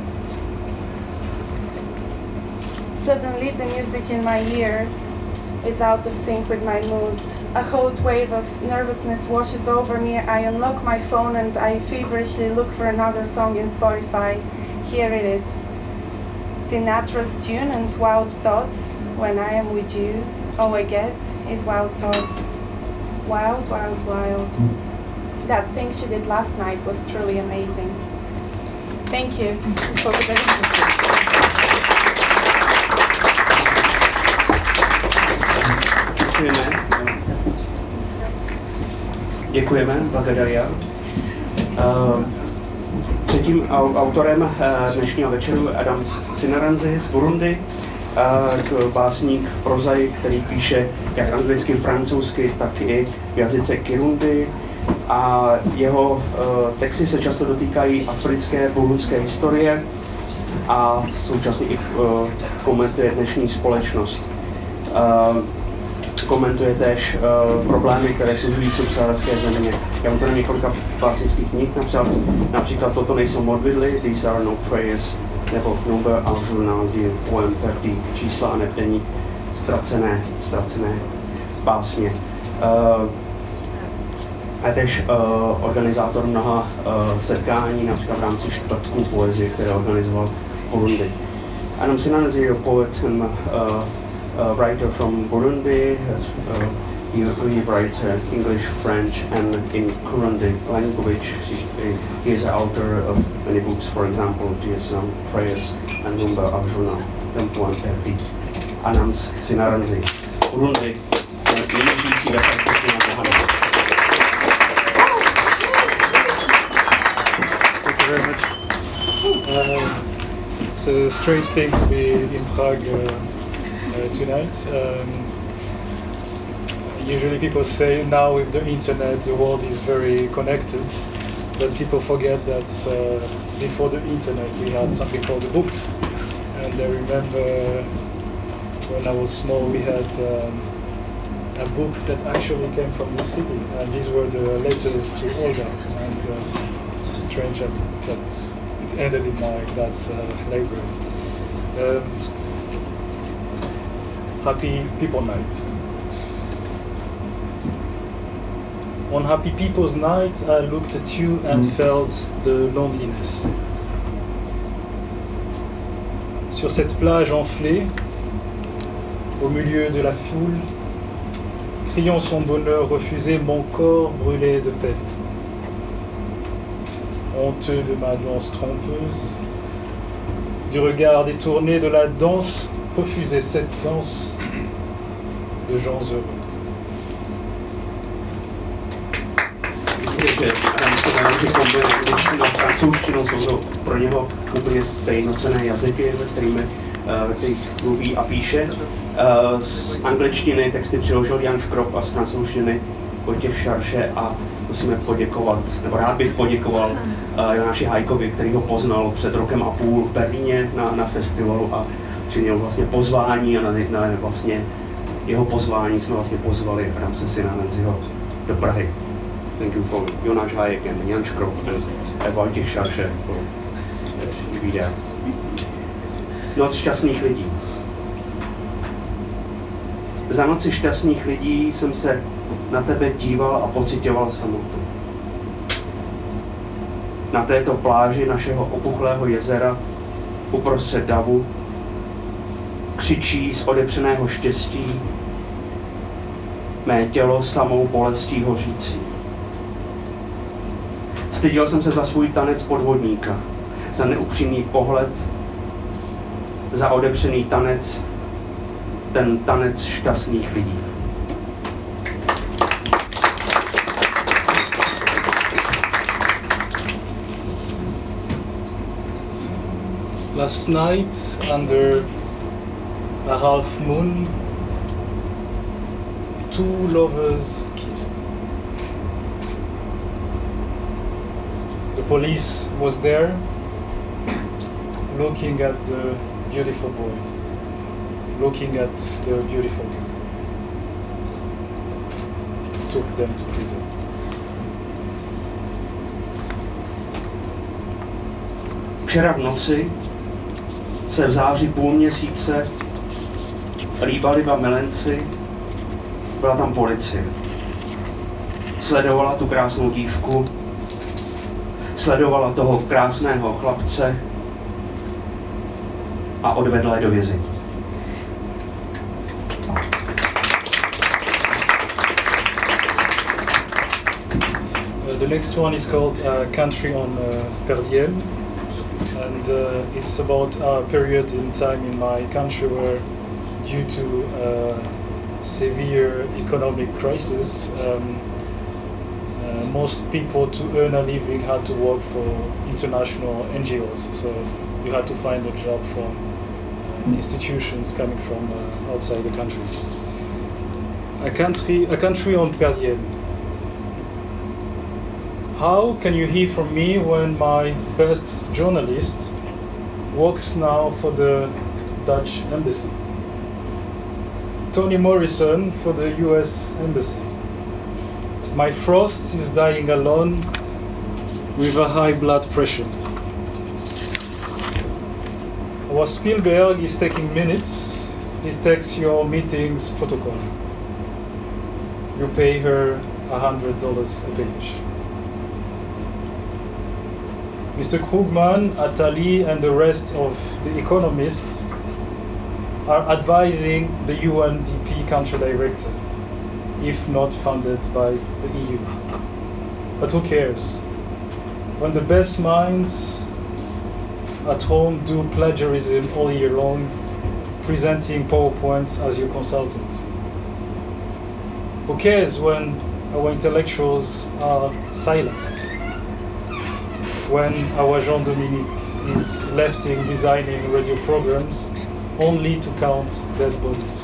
Suddenly the music in my ears is out of sync with my mood. A hot wave of nervousness washes over me. I unlock my phone and I feverishly look for another song in Spotify. Here it is. Sinatra's tune and Wild Thoughts. When I am with you, all I get is wild thoughts. Wild, wild, wild. That thing she did last night was truly amazing. Thank you. Děkujeme. Děkujeme, Vagadaria. Uh, třetím autorem dnešního večeru Adam Sinaranzi z Burundi, uh, básník, prozaik, který píše jak anglicky, francouzsky, tak i v jazyce Kirundi. A jeho uh, texty se často dotýkají africké, burundské historie a současně i uh, komentuje dnešní společnost. Uh, komentuje též uh, problémy, které sužují subsaharské země. Já mám tady několika básnických knih napsal, například Toto nejsou modlitby, These are no prayers, nebo Number a journal du poem perdu, čísla a nebdení, ztracené, ztracené básně. Uh, a též uh, organizátor mnoha uh, setkání, například v rámci čtvrtků poezie, které organizoval v Burundi. Adam Sinaranzi je poet and uh, uh, writer from Burundi. Uh, he, he writes uh, English, French, and in Kirundi language. He, he is the author of many books, for example, D S M, Prayers, and Number of Journal. tempuan perdi anans sinaranzi. Urundi, nejžijící ve francouzštině na pohanu. Thank you very much. Um, it's a strange thing to be in Prague uh, uh, tonight. Um, usually people say now with the internet the world is very connected, but people forget that uh, before the internet we had something called the books. And I remember when I was small we had um, a book that actually came from the city, and these were the letters to Olga. And uh, it's strange that, that it ended in my dad's uh, library. Um, happy People Night. On Happy People's Night, I looked at you and mm. felt the loneliness. Sur cette plage enflée, au milieu de la foule, criant son bonheur refusé, mon corps brûlait de peine. Honteux de ma danse trompeuse, du regard détourné de la danse, refusait cette danse de gens heureux. Že Ramsey kombinuje angličtinu a francouzštinu, jsou to pro něho úplně stejnocenné jazyky, ve kterými, ve kterých mluví a píše. Z angličtiny texty přeložil Jan Škrop a z francouzštiny Vojtěch Šarše a musíme poděkovat, nebo rád bych poděkoval Jonáši Hajkovi, který ho poznal před rokem a půl v Berlíně na, na festivalu a přijel vlastně pozvání a na, na vlastně jeho pozvání jsme vlastně pozvali Ramse Sinaranziho do Prahy. Thank you for Jonáš Hájek and Jan Škrop and Vojtěch Šarše for be there. Noc šťastných lidí. Za noci šťastných lidí jsem se na tebe díval a pocitoval samotu. Na této pláži našeho opuchlého jezera uprostřed davu křičí z odepřeného štěstí mé tělo samou bolestí hořící. Styděl jsem se za svůj tanec podvodníka, za neupřímný pohled, za odepřený tanec, ten tanec šťastných lidí. Last night, under a half moon, two lovers kissed. The police was there, looking at the beautiful boy, looking at the beautiful girl. Took them to prison. Včera v noci se v září půl měsíce líbali dva milenci, byla tam policie. Sledovala tu krásnou dívku, sledovala toho krásného chlapce a odvedla je do vězení. The next one is called uh, Country on uh, Perdiel, and uh, it's about a period in time in my country where, due to uh, severe economic crisis, um, uh, most people to earn a living had to work for international N G Os. So you had to find a job from uh, institutions coming from uh, outside the country. A country, a country on Perdiel. How can you hear from me when my best journalist works now for the Dutch embassy? Toni Morrison for the U S embassy. My Frost is dying alone with a high blood pressure. Our Spielberg is taking minutes. Please text your meetings protocol. You pay her a hundred dollars a page. Mister Krugman, Attali, and the rest of the economists are advising the U N D P country director, if not funded by the E U. But who cares? When the best minds at home do plagiarism all year long, presenting PowerPoints as your consultant? Who cares when our intellectuals are silenced? When our Jean-Dominique is left in designing radio programs only to count dead bodies?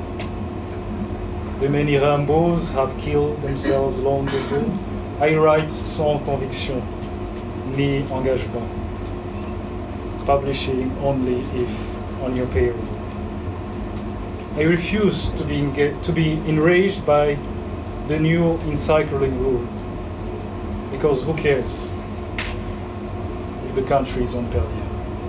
The many Rambos have killed themselves long ago. I write sans conviction, ni engagement, publishing only if on your payroll. I refuse to be, enga- to be enraged by the new encircling rule, because who cares if the country is on peril?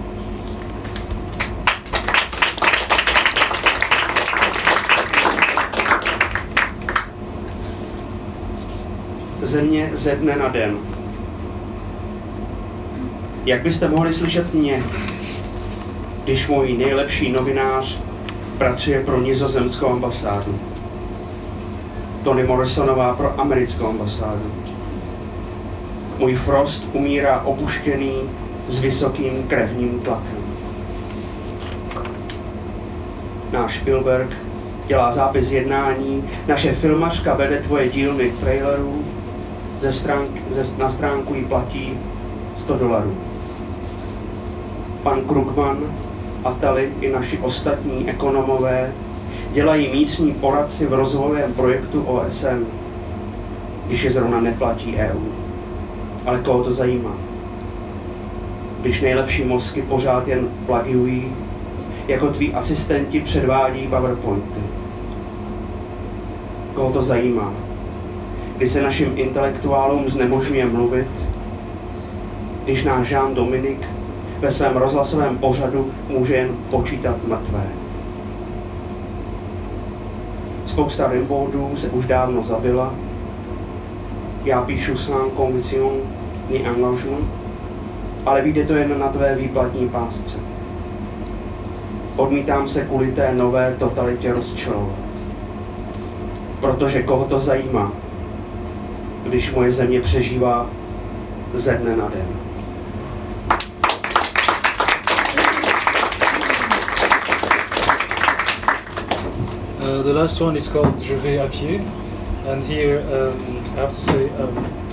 Země ze dne na den. Jak byste mohli slyšet mě, když můj nejlepší novinář pracuje pro nizozemskou ambasádu? Toni Morrisonová pro americkou ambasádu. Můj Frost umírá opuštěný s vysokým krevním tlakem. Náš Spielberg dělá zápis jednání, naše filmařka vede tvoje dílny trailerů, ze stránk, ze, na stránku jí platí sto dolarů. Pan Krugman, Atali i naši ostatní ekonomové dělají místní poradci v rozvojovém projektu O S N, když je zrovna neplatí E U. Ale koho to zajímá? Když nejlepší mozky pořád jen plagiují, jako tví asistenti předvádí PowerPointy. Koho to zajímá? Když se našim intelektuálům znemožňuje mluvit, když náš Jean-Dominique ve svém rozhlasovém pořadu může jen počítat mrtvé. Spousta Rimbaudů se už dávno zabila, já píšu sans conviction ni engagement, ale vyjde to jen na tvé výplatní pásce. Odmítám se kvůli té nové totalitě rozčilovat. Protože koho to zajímá, když moje země přežívá ze dne na den. Uh, the last one is called Je vais à pied, and here um, I have to say um,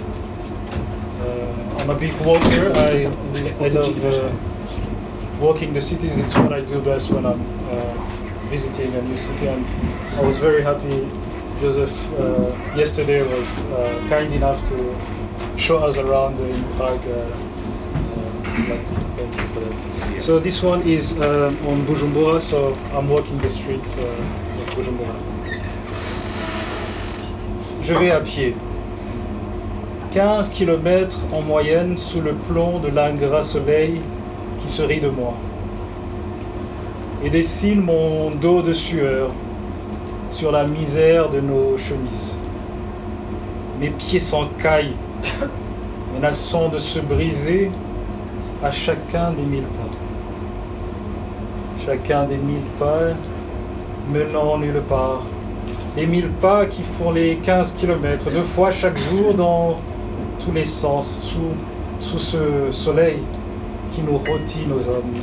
uh, I'm a big walker. I, I love uh, walking the cities. It's what I do best when I'm uh, visiting a new city, and I was very happy Joseph uh, yesterday was uh, kind enough to show us around in Prague. Uh, uh, thank you for that. So this one is um, on Bujumbura, so I'm walking the streets uh, of Bujumbura. Je vais à pied. quinze kilomètres en moyenne sous le plomb de l'ingrat soleil qui se rit de moi. Et dessine mon dos de sueur sur la misère de nos chemises. Mes pieds s'encaillent, menaçant de se briser à chacun des mille pas. Chacun des mille pas menant nulle part. Les mille pas qui font les quinze kilomètres, deux fois chaque jour dans tous les sens, sous, sous ce soleil qui nous rôtit nos âmes.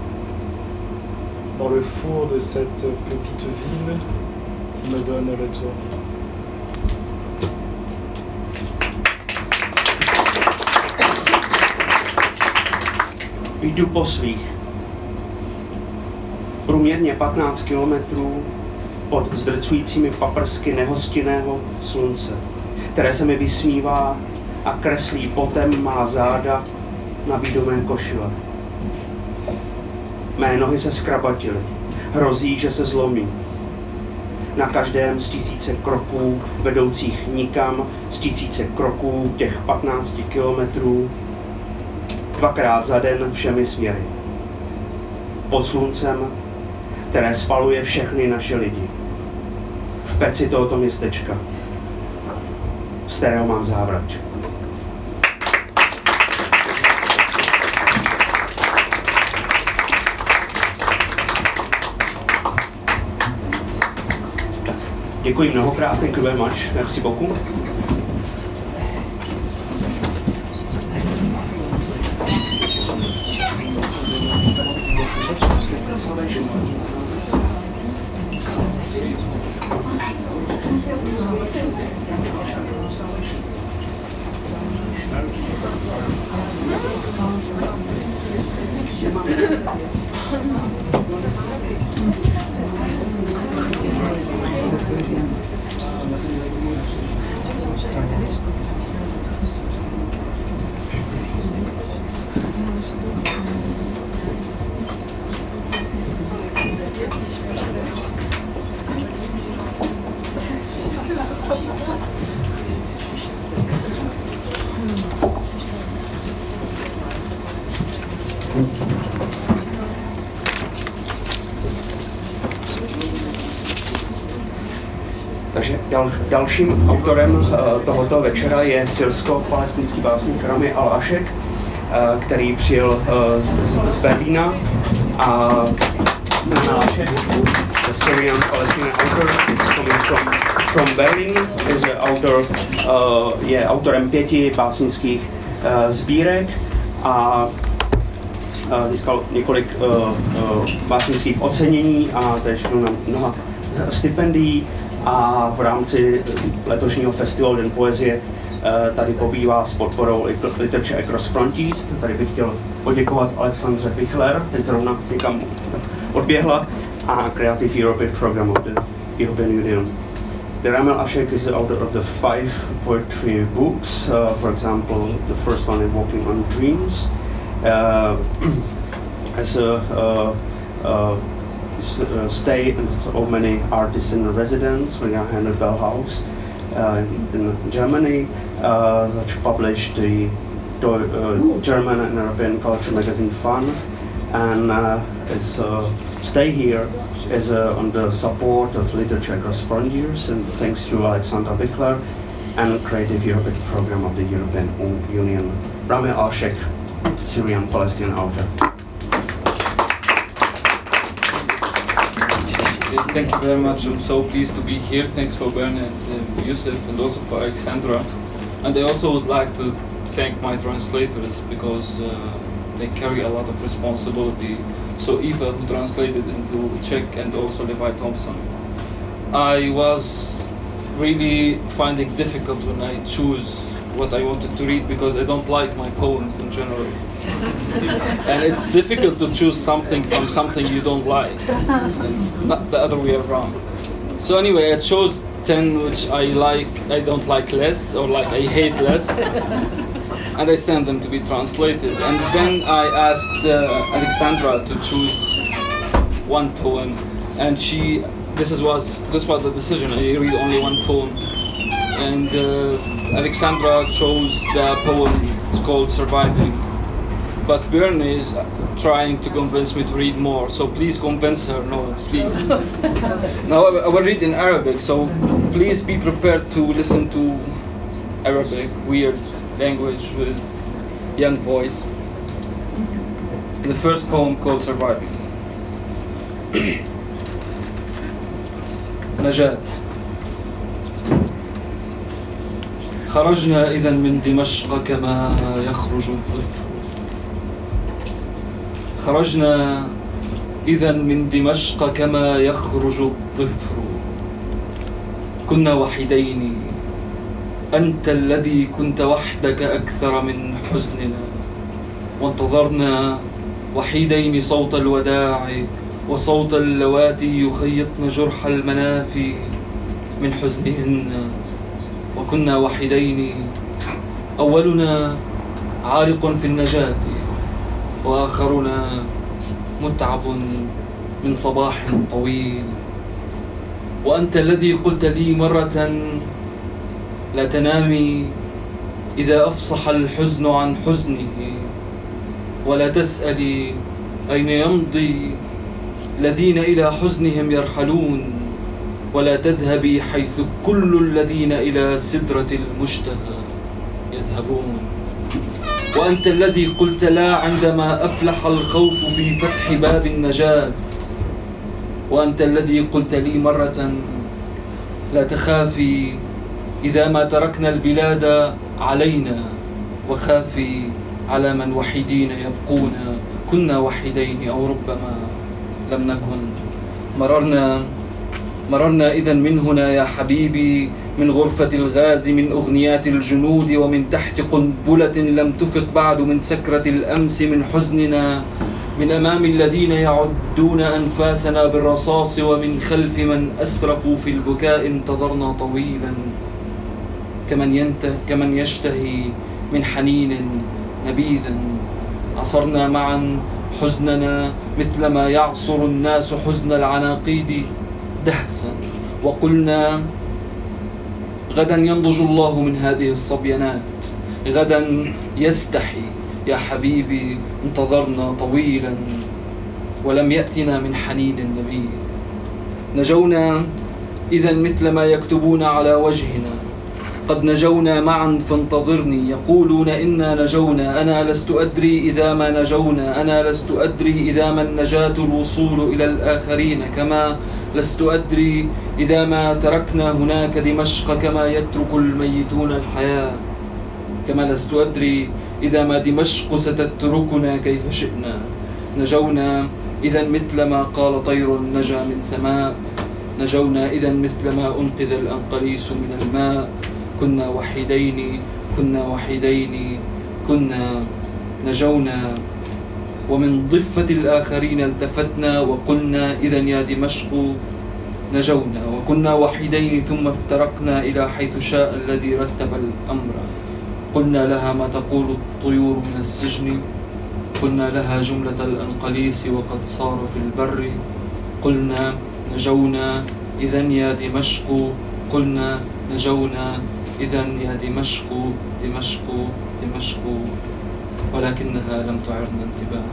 Dans le four de cette petite ville qui me donne le tournis. Jdu po svých. Průměrně patnáct kilometrů pod zdrcujícími paprsky nehostinného slunce, které se mi vysmívá a kreslí potem má záda na bídomé košile. Mé nohy se zkrabatily. Hrozí, že se zlomí. Na každém z tisíce kroků vedoucích nikam, z tisíce kroků těch patnácti kilometrů, dvakrát za den všemi směry. Pod sluncem, které spaluje všechny naše lidi. V peci tohoto městečka, z kterého mám závrať. Děkuji mnohokrát, thank you very much, merci beaucoup. Takže dal, dalším autorem uh, tohoto večera je syrsko-palestinský básník Rami al-Ashek, uh, který přijel uh, z, z Berlína a Rami al-Ashek, the Syrian Palestinian author, is coming from, from Berlin, is author, uh, je autorem pěti básnických uh, sbírek a uh, získal několik uh, uh, básnických ocenění a též byl na mnoha stipendií. A v rámci letošního festivalu Den poezie tady pobývá s podporou Literature Across Frontiers. Tady bych chtěl poděkovat Alexandře Pichler, teď zrovna někam odběhla, a Creative Europe Program of the European Union. The Rami al-Ashek is the author of the five poetry books. Uh, for example, the first one is Walking on Dreams. Uh, as a uh, uh, Uh, stay and of many artists in residence. We are in the Bell House uh, in, in Germany, uh, that published the uh, German and European culture magazine Fun, and uh, its uh, stay here is uh, on the support of Literature Across Frontiers, and thanks to Alexandra Bichler and Creative Europe Program of the European Union. Rami al-Ashek, Syrian Palestinian author. Thank you very much. I'm so pleased to be here. Thanks for Bernard and uh, Yusuf, and also for Alexandra. And I also would like to thank my translators, because uh, they carry a lot of responsibility. So Eva, who translated into Czech, and also Levi Thompson. I was really finding difficult when I choose what I wanted to read, because I don't like my poems in general. And it's difficult to choose something from something you don't like. It's not the other way around. So anyway, I chose ten which I like, I don't like less, or like I hate less. And I sent them to be translated. And then I asked uh, Alexandra to choose one poem. And she, this is was, this was the decision, I read only one poem. And uh, Alexandra chose the poem, it's called Surviving. But Bernie is trying to convince me to read more, so please convince her, no, please. Now I will read in Arabic, so please be prepared to listen to Arabic, weird language with young voice. The first poem called Surviving. نجاة. خرجنا إذا من دمشق كما يخرج الظفر. خرجنا إذا من دمشق كما يخرج الظفر. كنا وحيدين، أنت الذي كنت وحدك أكثر من حزننا، وانتظرنا وحيدين صوت الوداع وصوت اللواتي يخيطن جرح المنافي من حزنهن. وكنا وحيدين، أولنا عالق في النجاة، وآخرنا متعب من صباح طويل. وأنت الذي قلت لي مرة لا تنامي إذا أفصح الحزن عن حزنه، ولا تسألي أين يمضي الذين إلى حزنهم يرحلون، ولا تذهبي حيث كل الذين إلى سدرة المشتهى يذهبون. وأنت الذي قلت لا عندما أفلح الخوف في فتح باب النجاة، وأنت الذي قلت لي مرة لا تخافي إذا ما تركنا البلاد علينا، وخافي على من وحيدين يبقون. كنا وحيدين أو ربما لم نكن. مررنا مررنا إذن من هنا يا حبيبي من غرفة الغاز من أغنيات الجنود ومن تحت قنبلة لم تفق بعد من سكرة الأمس من حزننا من أمام الذين يعدون أنفاسنا بالرصاص ومن خلف من أسرفوا في البكاء انتظرنا طويلا كمن, ينته كمن يشتهي من حنين نبيذا عصرنا معا حزننا مثلما يعصر الناس حزن العناقيد دهسا وقلنا غدا ينضج الله من هذه الصبيانات غدا يستحي يا حبيبي انتظرنا طويلا ولم يأتنا من حنين النبي نجونا إذا مثل ما يكتبون على وجهنا قد نجونا معا فانتظرني يقولون إنا نجونا أنا لست أدري إذا ما نجونا أنا لست أدري إذا ما النجاة الوصول إلى الآخرين كما لست أدري إذا ما تركنا هناك دمشق كما يترك الميتون الحياة كما لست أدري إذا ما دمشق ستتركنا كيف شئنا نجونا إذا مثل ما قال طير نجا من سماء نجونا إذا مثل ما أنقذ الأنقليس من الماء كنا وحيدين كنا وحيدين كنا نجونا ومن ضفة الآخرين التفتنا وقلنا إذا يا دمشق نجونا وكنا وحيدين ثم افترقنا إلى حيث شاء الذي رتب الأمر قلنا لها ما تقول الطيور من السجن قلنا لها جملة الأنقليس وقد صار في البر قلنا نجونا إذا يا دمشق قلنا نجونا إذا يا دمشق دمشق دمشق ولكنها لم تعرنا انتباها.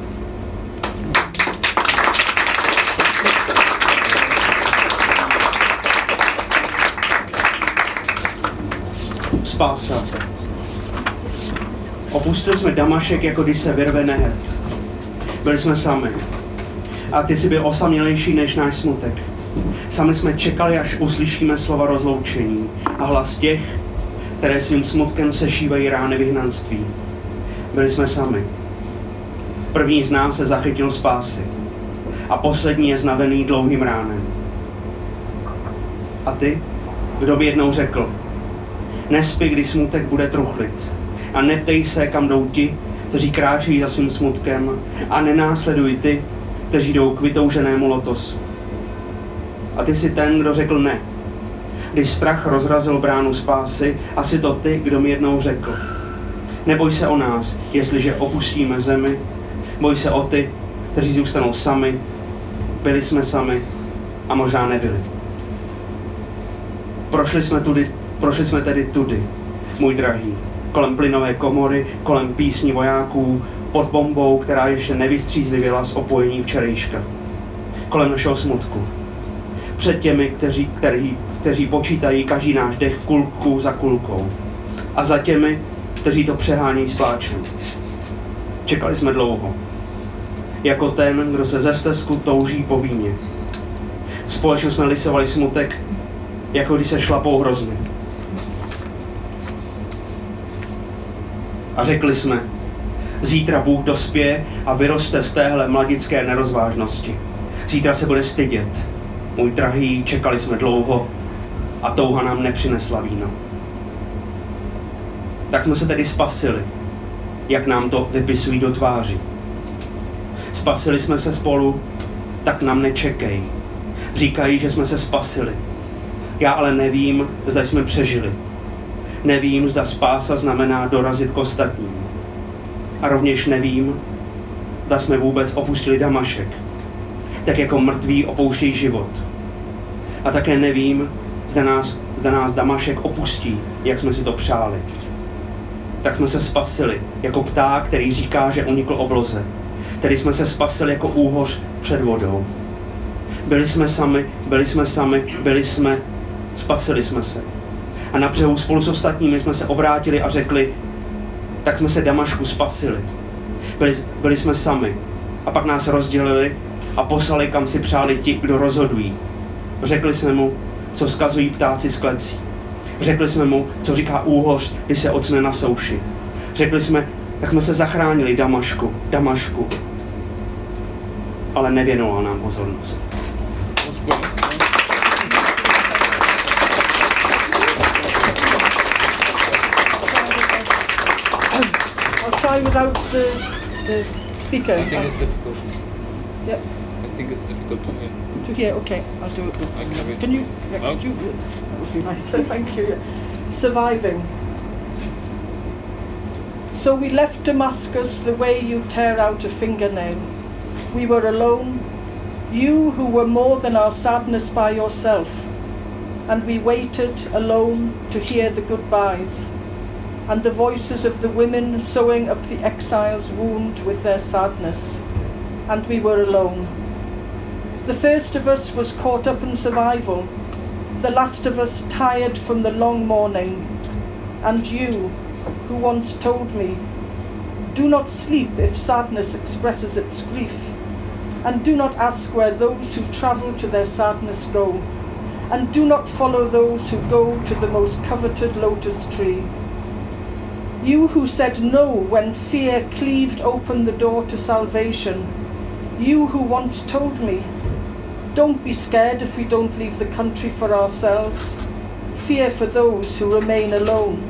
Spása. Opustili jsme Damašek, jako když se vyrve nehet. Byli jsme sami. A ty jsi byl osamělejší než náš smutek. Sami jsme čekali, až uslyšíme slova rozloučení a hlas těch, které svým smutkem sešívají rány vyhnanství. Byli jsme sami. První z nás se zachytil spásy a poslední je znavený dlouhým ránem. A ty, kdo by jednou řekl, nespí, když smutek bude truchlit a neptej se, kam jdou ti, kteří kráčejí za svým smutkem a nenásleduj ty, kteří jdou k vytouženému lotosu. A ty jsi ten, kdo řekl ne. Když strach rozrazil bránu spásy, asi to ty, kdo mi jednou řekl. Neboj se o nás, jestliže opustíme zemi, boj se o ty, kteří zůstanou sami, byli jsme sami a možná nebyli. Prošli jsme, tudy, prošli jsme tedy tudy, můj drahý, kolem plynové komory, kolem písní vojáků, pod bombou, která ještě nevystřízlivěla z opojení včerejška. Kolem našeho smutku. Před těmi, kteří, kteří, kteří počítají každý náš dech kulku za kulkou. A za těmi, kteří to přehánějí s pláčem. Čekali jsme dlouho. Jako ten, kdo se ze stezku touží po víně. Společně jsme lisovali smutek, jako když se šlapou hrozny. A řekli jsme, zítra Bůh dospěje a vyroste z téhle mladické nerozvážnosti. Zítra se bude stydět. Můj drahý, čekali jsme dlouho a touha nám nepřinesla víno. Tak jsme se tedy spasili, jak nám to vypisují do tváři. Spasili jsme se spolu, tak nám nečekej. Říkají, že jsme se spasili. Já ale nevím, zda jsme přežili. Nevím, zda spása znamená dorazit k ostatním. A rovněž nevím, zda jsme vůbec opustili Damašek, tak jako mrtví opouštějí život. A také nevím, zda nás, zda nás Damašek opustí, jak jsme si to přáli. Tak jsme se spasili jako pták, který říká, že unikl obloze. Tedy jsme se spasili jako úhoř před vodou. Byli jsme sami, byli jsme sami, byli jsme, spasili jsme se. A na břehu spolu s ostatními jsme se obrátili a řekli, tak jsme se Damašku spasili. Byli, byli jsme sami. A pak nás rozdělili a poslali, kam si přáli ti, kdo rozhodují. Řekli jsme mu, co vzkazují ptáci z klecí. Řekli jsme mu, co říká úhoř, když se ocne na souši. Řekli jsme, tak jsme se zachránili Damašku, Damašku. Ale nevěnoval nám pozornost. I'll try without the, the speaker. I think it's difficult. Yep. I think it's difficult to hear. To hear, okay, I'll do it with I can read. Can you, yeah, Oh. could you, that would be nice, thank you. Yeah. Surviving. So we left Damascus the way you tear out a fingernail. We were alone, you who were more than our sadness by yourself, and we waited alone to hear the goodbyes, and the voices of the women sewing up the exile's wound with their sadness, and we were alone. The first of us was caught up in survival, the last of us tired from the long mourning, and you, who once told me, do not sleep if sadness expresses its grief, and do not ask where those who travel to their sadness go, and do not follow those who go to the most coveted lotus tree. You who said no when fear cleaved open the door to salvation, you who once told me, don't be scared if we don't leave the country for ourselves, fear for those who remain alone.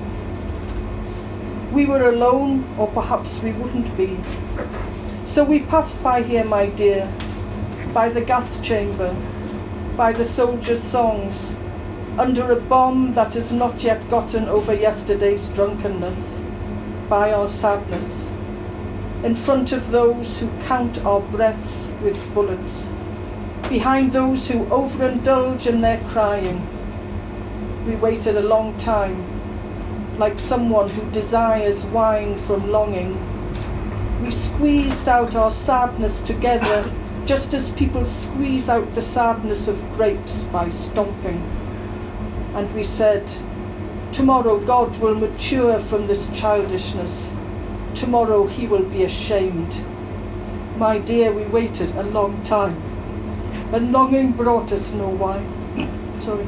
We were alone, or perhaps we wouldn't be. So we passed by here, my dear, by the gas chamber, by the soldiers' songs, under a bomb that has not yet gotten over yesterday's drunkenness, by our sadness, in front of those who count our breaths with bullets, behind those who overindulge in their crying. We waited a long time, like someone who desires wine from longing. We squeezed out our sadness together, just as people squeeze out the sadness of grapes by stomping. And we said, tomorrow God will mature from this childishness. Tomorrow he will be ashamed. My dear, we waited a long time, and longing brought us no wine. Sorry.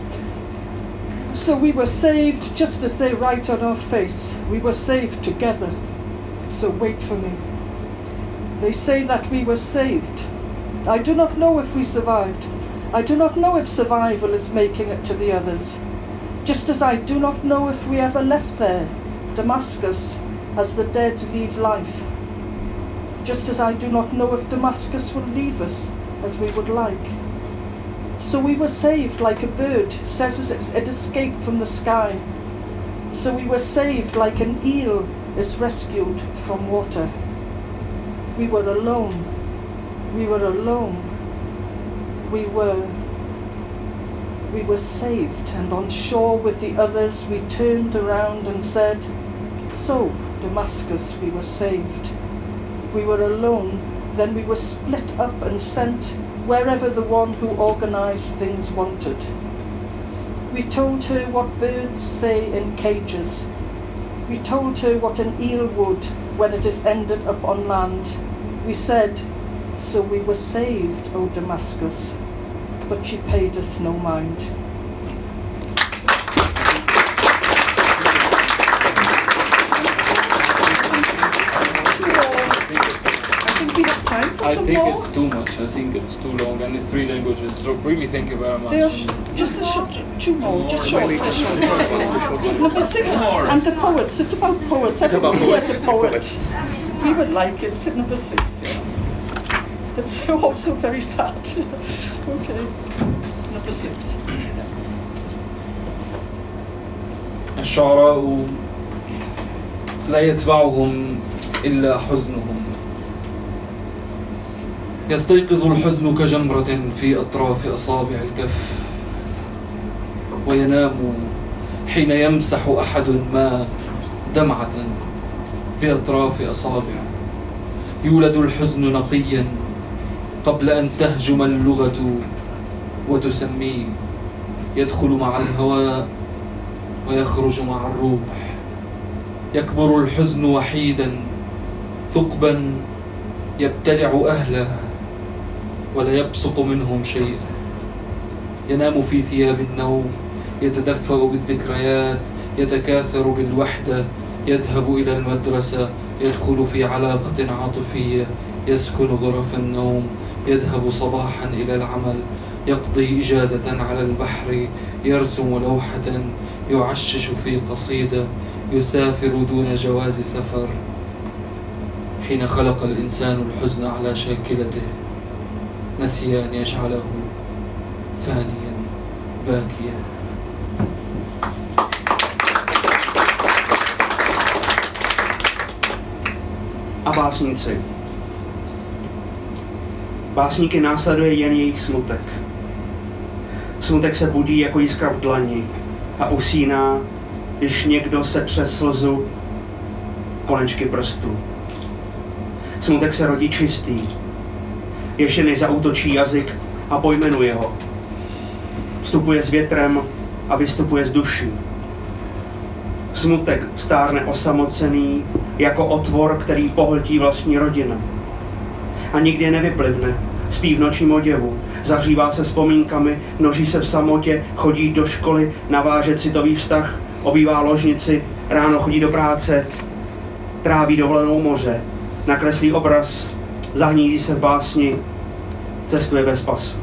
So we were saved, just as they write on our face. We were saved together. So wait for me. They say that we were saved. I do not know if we survived. I do not know if survival is making it to the others. Just as I do not know if we ever left there, Damascus, as the dead leave life. Just as I do not know if Damascus will leave us as we would like. So we were saved like a bird says it escaped from the sky. So we were saved like an eel is rescued from water. We were alone. We were alone. We were, we were saved, and on shore with the others we turned around and said, so, Damascus, we were saved. We were alone, then we were split up and sent wherever the one who organized things wanted. We told her what birds say in cages. We told her what an eel would when it is ended up on land. We said, so we were saved, O Damascus, but she paid us no mind. I think more? It's too much. I think it's too long, and it's three languages. So really, thank you very much. They are sh- just the sh- two more, more, just short. Just short. Number six, more. And the poets. It's about poets. Everyone who has a poet. We would like it. It's number six. Yeah. It's also very sad. Okay. Number six. الشعراء لا يتبعهم إلا حزنهم. يستيقظ الحزن كجمرة في أطراف أصابع الكف، وينام حين يمسح أحد ما دمعة بأطراف أصابع. يولد الحزن نقيا قبل أن تهجم اللغة وتسميه. يدخل مع الهواء ويخرج مع الروح. يكبر الحزن وحيدا ثقبا يبتلع أهله ولا يبصق منهم شيئا. ينام في ثياب النوم، يتدفأ بالذكريات، يتكاثر بالوحدة، يذهب إلى المدرسة، يدخل في علاقة عاطفية، يسكن غرف النوم، يذهب صباحا إلى العمل، يقضي إجازة على البحر، يرسم لوحة، يعشش في قصيدة، يسافر دون جواز سفر، حين خلق الإنسان الحزن على شاكلته نسي أن يجعله فانيا باكيا. A básníci. Básníky následuje jen jejich smutek. Smutek se budí jako jiskra v dlani a usíná, když někdo setře slzu konečky prstů. Smutek se rodí čistý, ještě než zaútočí jazyk a pojmenuje ho. Vstupuje s větrem a vystupuje z duší. Smutek stárne osamocený jako otvor, který pohltí vlastní rodinu. A nikdy nevyplivne, spí v nočním oděvu, zahřívá se vzpomínkami, množí se v samotě, chodí do školy, naváže citový vztah, obývá ložnici, ráno chodí do práce, tráví dovolenou moře, nakreslí obraz, zahnízí se v básni, cestuje bez pasu.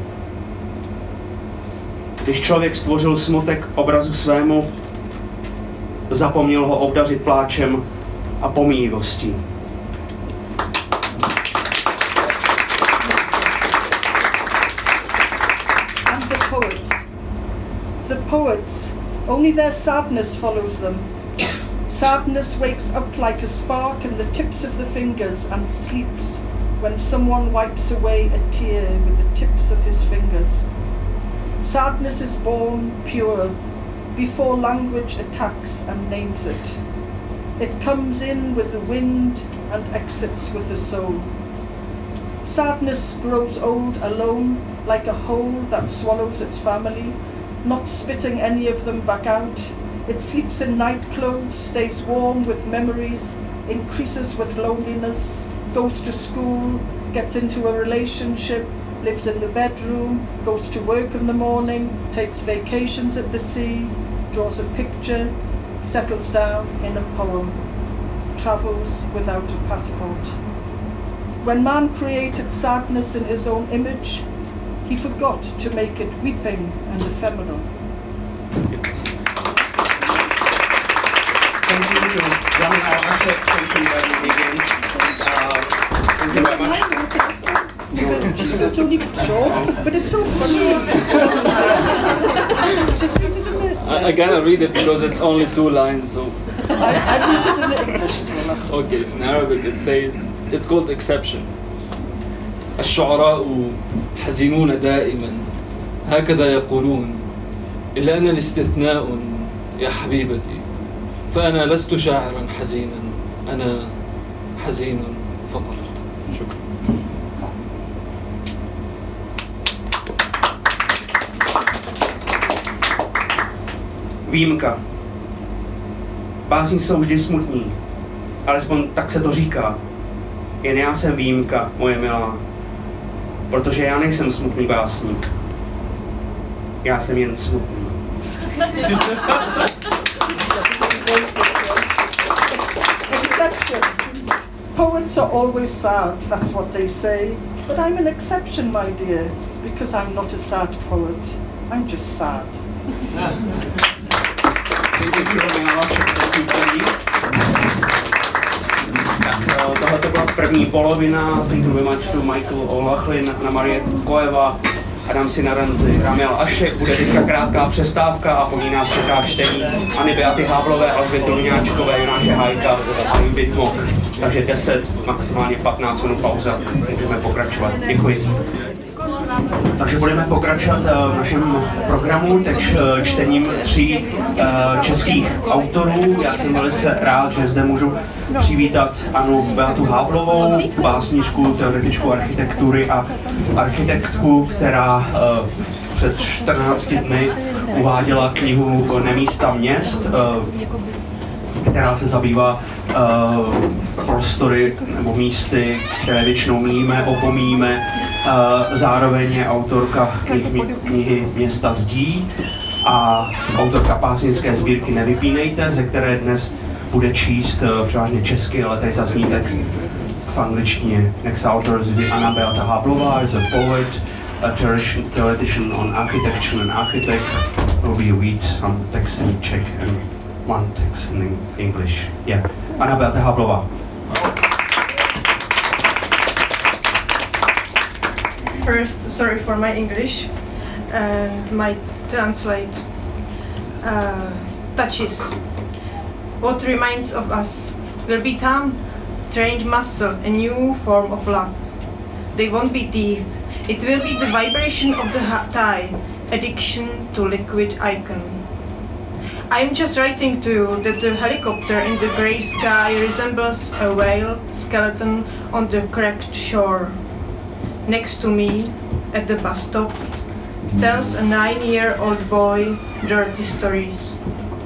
Když člověk stvořil smutek obrazu svému, zapomněl ho obdařit pláčem a pomíjivostí. And the poets. The poets, only their sadness follows them. Sadness wakes up like a spark in the tips of the fingers and sleeps when someone wipes away a tear with the tips of his fingers. Sadness is born pure before language attacks and names it. It comes in with the wind and exits with the soul. Sadness grows old alone, like a hole that swallows its family, not spitting any of them back out. It sleeps in night clothes, stays warm with memories, increases with loneliness, goes to school, gets into a relationship, lives in the bedroom, goes to work in the morning, takes vacations at the sea, draws a picture, settles down in a poem, travels without a passport. When man created sadness in his own image, he forgot to make it weeping and ephemeral. Thank you, Jan Alvašek. Thank you very much. Thank you very much. It's only short, but it's so funny. Just read it in the... I, I gotta read it because it's only two lines, so... I, I read it in the English as well. Okay, in Arabic it says, it's called exception. الشعراء حزينون دائما هكذا يقولون إلا أنا الاستثناء يا حبيبتي فأنا لست شاعرا حزينا أنا حزين فقط. شكرا. Výjimka. Básníci jsou vždy smutní, alespoň tak se to říká. Jen já jsem výjimka, moje milá, protože já nejsem smutný básník. Já jsem jen smutný. Exception. Poets are always sad, that's what they say. But I'm an exception, my dear, because I'm not a sad poet. I'm just sad. Tohle to byla první polovina, Thank you very much to Michael O'Loughlin, Anna Marie Koeva, Adam Sinaranzi, Ramiel Ašek. Bude teďka krátká přestávka a po ní nás čeká čtení Anny Beaty Háblové, Alžběty Luňáčkové, Jonáše Hájka a Imbit Mok. Takže deset, maximálně patnáct minut pauza, můžeme pokračovat. Děkuji. Takže budeme pokračovat v našem programu teď čtením tří českých autorů. Já jsem velice rád, že zde můžu přivítat Annu Beatu Háblovou, básníčku, teoretičku architektury a architektku, která před čtrnácti dny uváděla knihu Nemísta měst, která se zabývá uh, prostory nebo místy, které většinou míme, opomíjíme. Uh, zároveň je autorka knihy, knihy Města zdí a autorka básnické sbírky Nevypínejte, ze které dnes bude číst uh, převážně česky, ale tady zazní text v angličtině. Next author is Anna Beata Háblová, is a poet, a theoretician on architecture and architect. Will read some text in Czech and one text in English. Yeah. Anna Beata Háblová. first, sorry for my English and my translate uh, touches. What remains of us will become trained muscle, a new form of love. They won't be teeth. It will be the vibration of the tie, addiction to liquid icon. I'm just writing to you that the helicopter in the grey sky resembles a whale skeleton on the cracked shore. Next to me, at the bus stop, tells a nine-year-old boy dirty stories.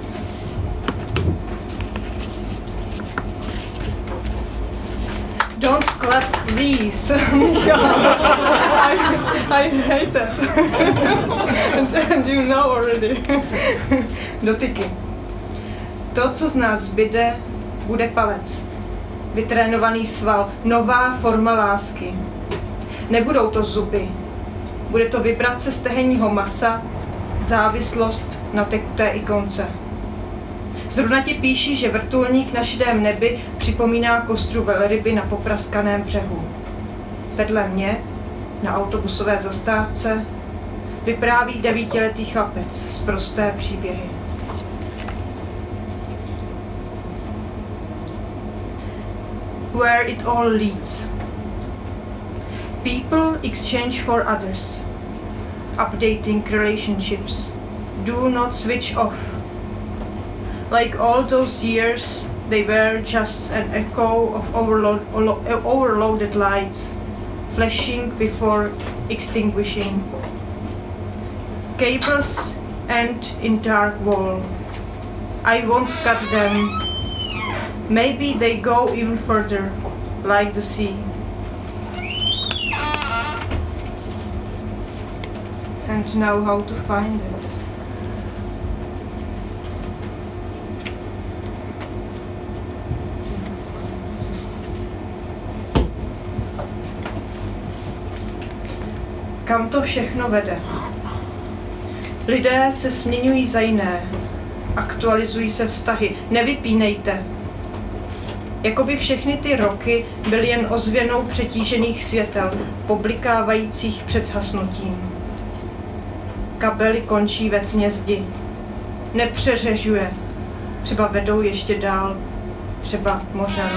Don't clap, please. I, I hate that. and, and you know already. Dotyky. To, co z nás zbyde, bude palec. Vytrénovaný sval. Nová forma lásky. Nebudou to zuby. Bude to vibrace stehenního masa, závislost na tekuté ikonce. Zrovna ti píší, že vrtulník na šedém nebi připomíná kostru velryby na popraskaném břehu. Vedle mě, na autobusové zastávce, vypráví devítiletý chlapec z prosté příběhy. Where it all leads. People exchange for others. Updating relationships. Do not switch off. Like all those years, they were just an echo of overload, overloaded lights, flashing before extinguishing. Cables end in dark wall. I won't cut them. Maybe they go even further, like the sea. And now how to find it. Kam to všechno vede? Lidé se směňují za jiné. Aktualizují se vztahy. Nevypínejte. Jakoby všechny ty roky byly jen ozvěnou přetížených světel, poblikávajících před zhasnutím. Kabely končí ve tmě zdi. Nepřeřežuje. Třeba vedou ještě dál. Třeba mořem.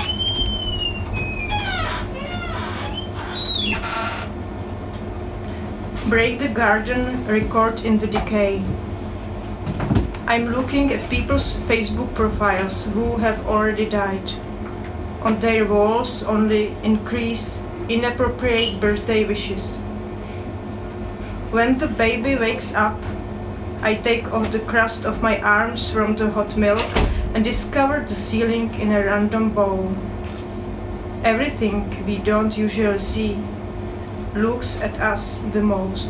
Break the garden, record in the decay. I'm looking at people's Facebook profiles who have already died. On their walls only increase inappropriate birthday wishes. When the baby wakes up, I take off the crust of my arms from the hot milk and discover the ceiling in a random bowl. Everything we don't usually see looks at us the most.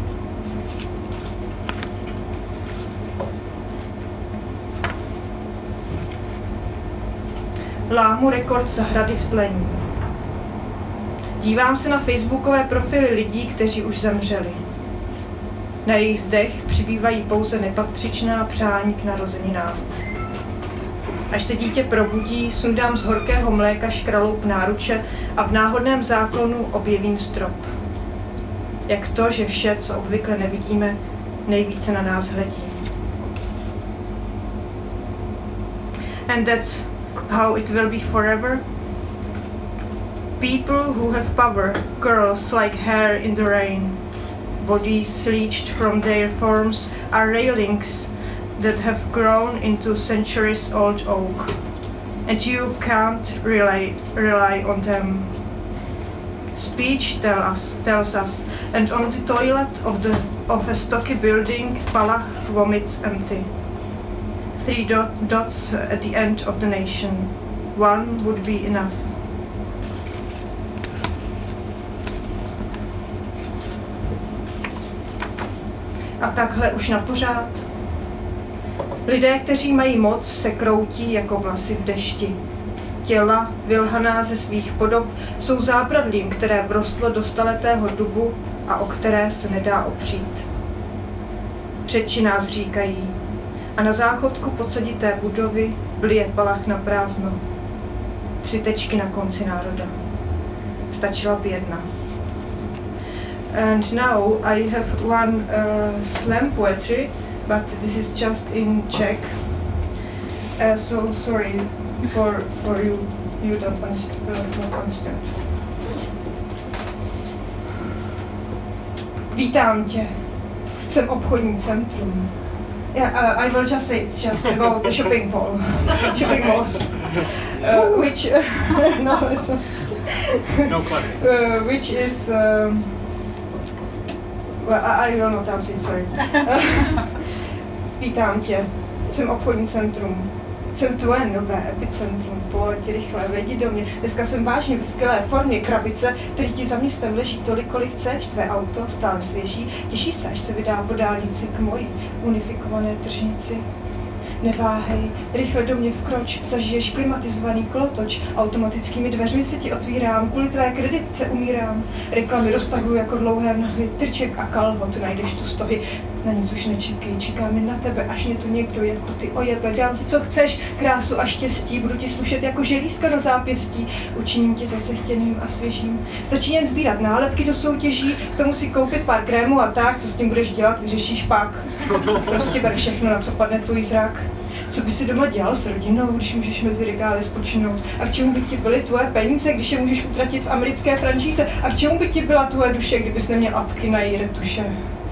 Lámu rekord zahrady v tlení. Dívám se na facebookové profily lidí, kteří už zemřeli. Na jejich zdech přibývají pouze nepatřičná přání k narozeninám. Až se dítě probudí, sundám z horkého mléka škraloup náruče a v náhodném záklonu objevím strop. Jak to, že vše, co obvykle nevidíme, nejvíce na nás hledí. And that's how it will be forever. People who have power, curls like hair in the rain. Bodies leached from their forms are railings that have grown into centuries-old oak, and you can't rely, rely on them. Speech tell us, tells us, and on the toilet of, the, of a stocky building, Palach vomits empty. Three dot, dots at the end of the nation. One would be enough. A takhle už na pořád. Lidé, kteří mají moc, se kroutí jako vlasy v dešti. Těla, vylhaná ze svých podob, jsou zábradlím, které vrostlo do staletého dubu a o které se nedá opřít. Řeči nás říkají a na záchodku podsadité budovy blije Palach na prázdno. Tři tečky na konci národa. Stačila by jedna. And now I have one uh, slam poetry, but this is just in Czech. Uh, so sorry for for you. You don't, uh, don't understand. Vítám tě. Jsem obchodní centrum. Yeah, uh, I will just say it's just about the shopping mall, shopping malls, uh, which uh, no, it's a, no uh, which is um, well, I, I will not answer. Sorry. Vítám tě. Jsem obchodní centrum. Jsem tvoje nové epicentrum, pojď rychle, vedi do mě. Dneska jsem vážně ve skvělé formě krabice, který ti za městem leží tolik, kolik chceš, tvé auto stále svěží, těší se, až se vydá po dálnici k mojí unifikované tržnici. Neváhej, rychle do mě vkroč, zažiješ klimatizovaný kolotoč, automatickými dveřmi se ti otvírám, kvůli tvé kreditce umírám. Reklamy roztahují jako dlouhé nohy, trček a kalhot, najdeš tu stohy. Na nic už nečekej, čekáme na tebe, až mě tu někdo jako ty ojebe. Dám ti, co chceš, krásu a štěstí, budu ti slušet jako želízka na zápěstí, učiním tě zase chtěným a svěžím. Stačí jen sbírat nálepky do soutěží, k tomu si koupit pár krémů a tak, co s tím budeš dělat, vyřešíš pak. Prostě ber všechno, na co padne tvůj zrak. Co by si doma dělal s rodinou, když můžeš mezi regály spočinout? A k čemu by ti byly tvoje peníze, když je můžeš utratit v americké franšíze? A k čemu by ti byla tvoje duše, kdybys neměl apky na její retuše?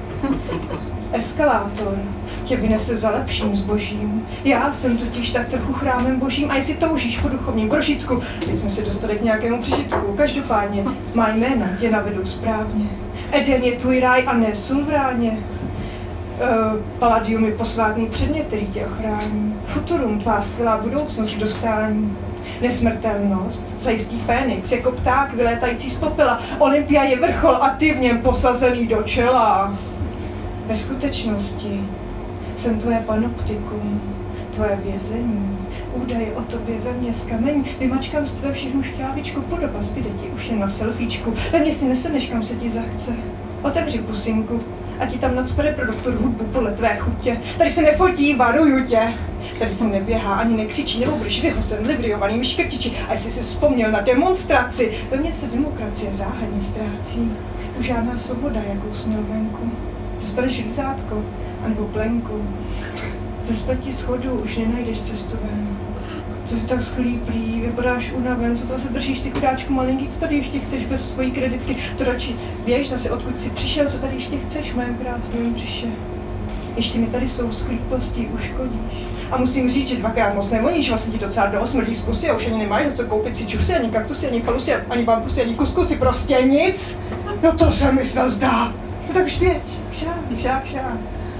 Eskalátor tě vynese za lepším zbožím. Já jsem totiž tak trochu chrámem božím a jestli toužíš po duchovním prožitku, teď jsme se dostali k nějakému přežitku. Každopádně má jména tě navedou správně. Eden je tvůj ráj a ne sulvráně. Uh, Palladium je posvátný předmět, který tě ochrání. Futurum, tvá skvělá budoucnost k dostání. Nesmrtelnost zajistí Fénix jako pták vylétající z popela. Olympia je vrchol a ty v něm posazený do čela. Ve skutečnosti jsem tvoje panoptikum, tvoje vězení. Údaje o tobě ve mně z kamení. Vymačkám z tebe všechnu šťávičku, podoba zbyde ti už jen na selfiečku. Ve mně si neseneš, kam se ti zachce. Otevři pusinku a ti tam nacpe reproduktor hudbu podle tvé chutě. Tady se nefotí, varuju tě. Tady se neběhá, ani nekřičí, nebo budeš vyhozen libriovanými škrtiči. A jestli jsi vzpomněl na demonstraci, ve mně se demokracie záhadně ztrácí. Už žádná svoboda, jakou jsi měl venku. Dostaneš lízátko, anebo plenku. Ze spleti schodů už nenajdeš cestu ven. Co jsi tak schlíplý, vypadáš unaven, co to se držíš ty chudáčku malinký, co tady ještě chceš bez svojí kreditky, to radši běž zase odkud jsi přišel, co tady ještě chceš, moje krásné břiše. Ještě mi tady jsou schlíplostí uškodíš. A musím říct, že dvakrát moc nevoníš, vlastně ti docela dost smrdí z pusy a už ani nemáš za co koupit si čusy, ani kaktusy, ani falusy, ani bambusy, ani kuskusy, prostě nic. No to se mi snad zdá. No tak už běž, kšá, kšá, kšá.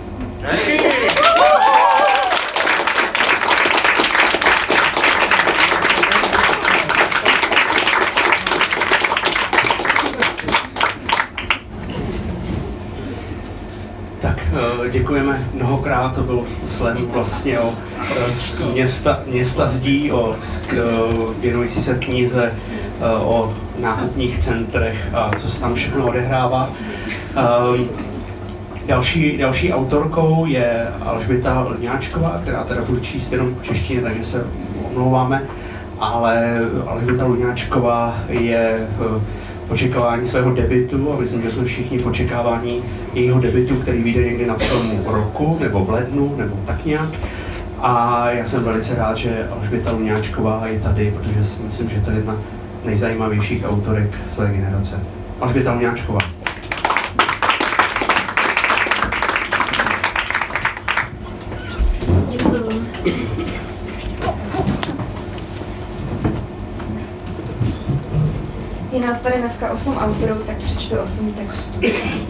Děkujeme mnohokrát, to byl slam vlastně o z města, města zdí, o věnující se knize o nákupních centrech a co se tam všechno odehrává. Další, další autorkou je Alžběta Luňáčková, která teda bude číst jenom v češtině, takže se omlouváme, ale Alžběta Luňáčková je v očekávání svého debutu a myslím, že jsme všichni v očekávání jejího debutu, který vyjde někdy na přelomu roku, nebo v lednu, nebo tak nějak. A já jsem velice rád, že Alžběta Luňáčková je tady, protože si myslím, že to je jedna z nejzajímavějších autorek své generace. Alžběta Luňáčková. Děkuju. Je nás tady dneska osm autorů, tak přečtu osm textů.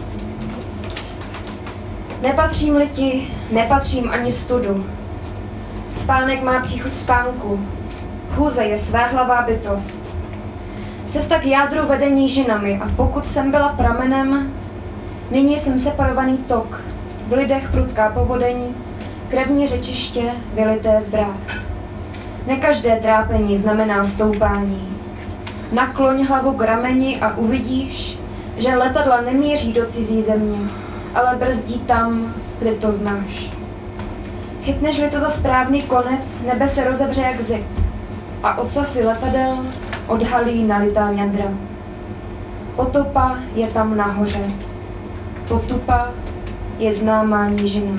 Nepatřím-li ti, nepatřím ani studu. Spánek má příchuť spánku. Chůze je svéhlavá bytost. Cesta k jádru vede nížinami a pokud jsem byla pramenem, nyní jsem separovaný tok. V lidech prudká povodeň, krevní řečiště, vylité z brázd. Ne každé trápení znamená stoupání. Nakloň hlavu k rameni a uvidíš, že letadla nemíří do cizí země, ale brzdí tam, kde to znáš. Chytneš-li to za správný konec, nebe se rozevře jak zip a ocasy letadel odhalí nalitá ňadra. Potopa je tam nahoře. Potupa je známá nížina.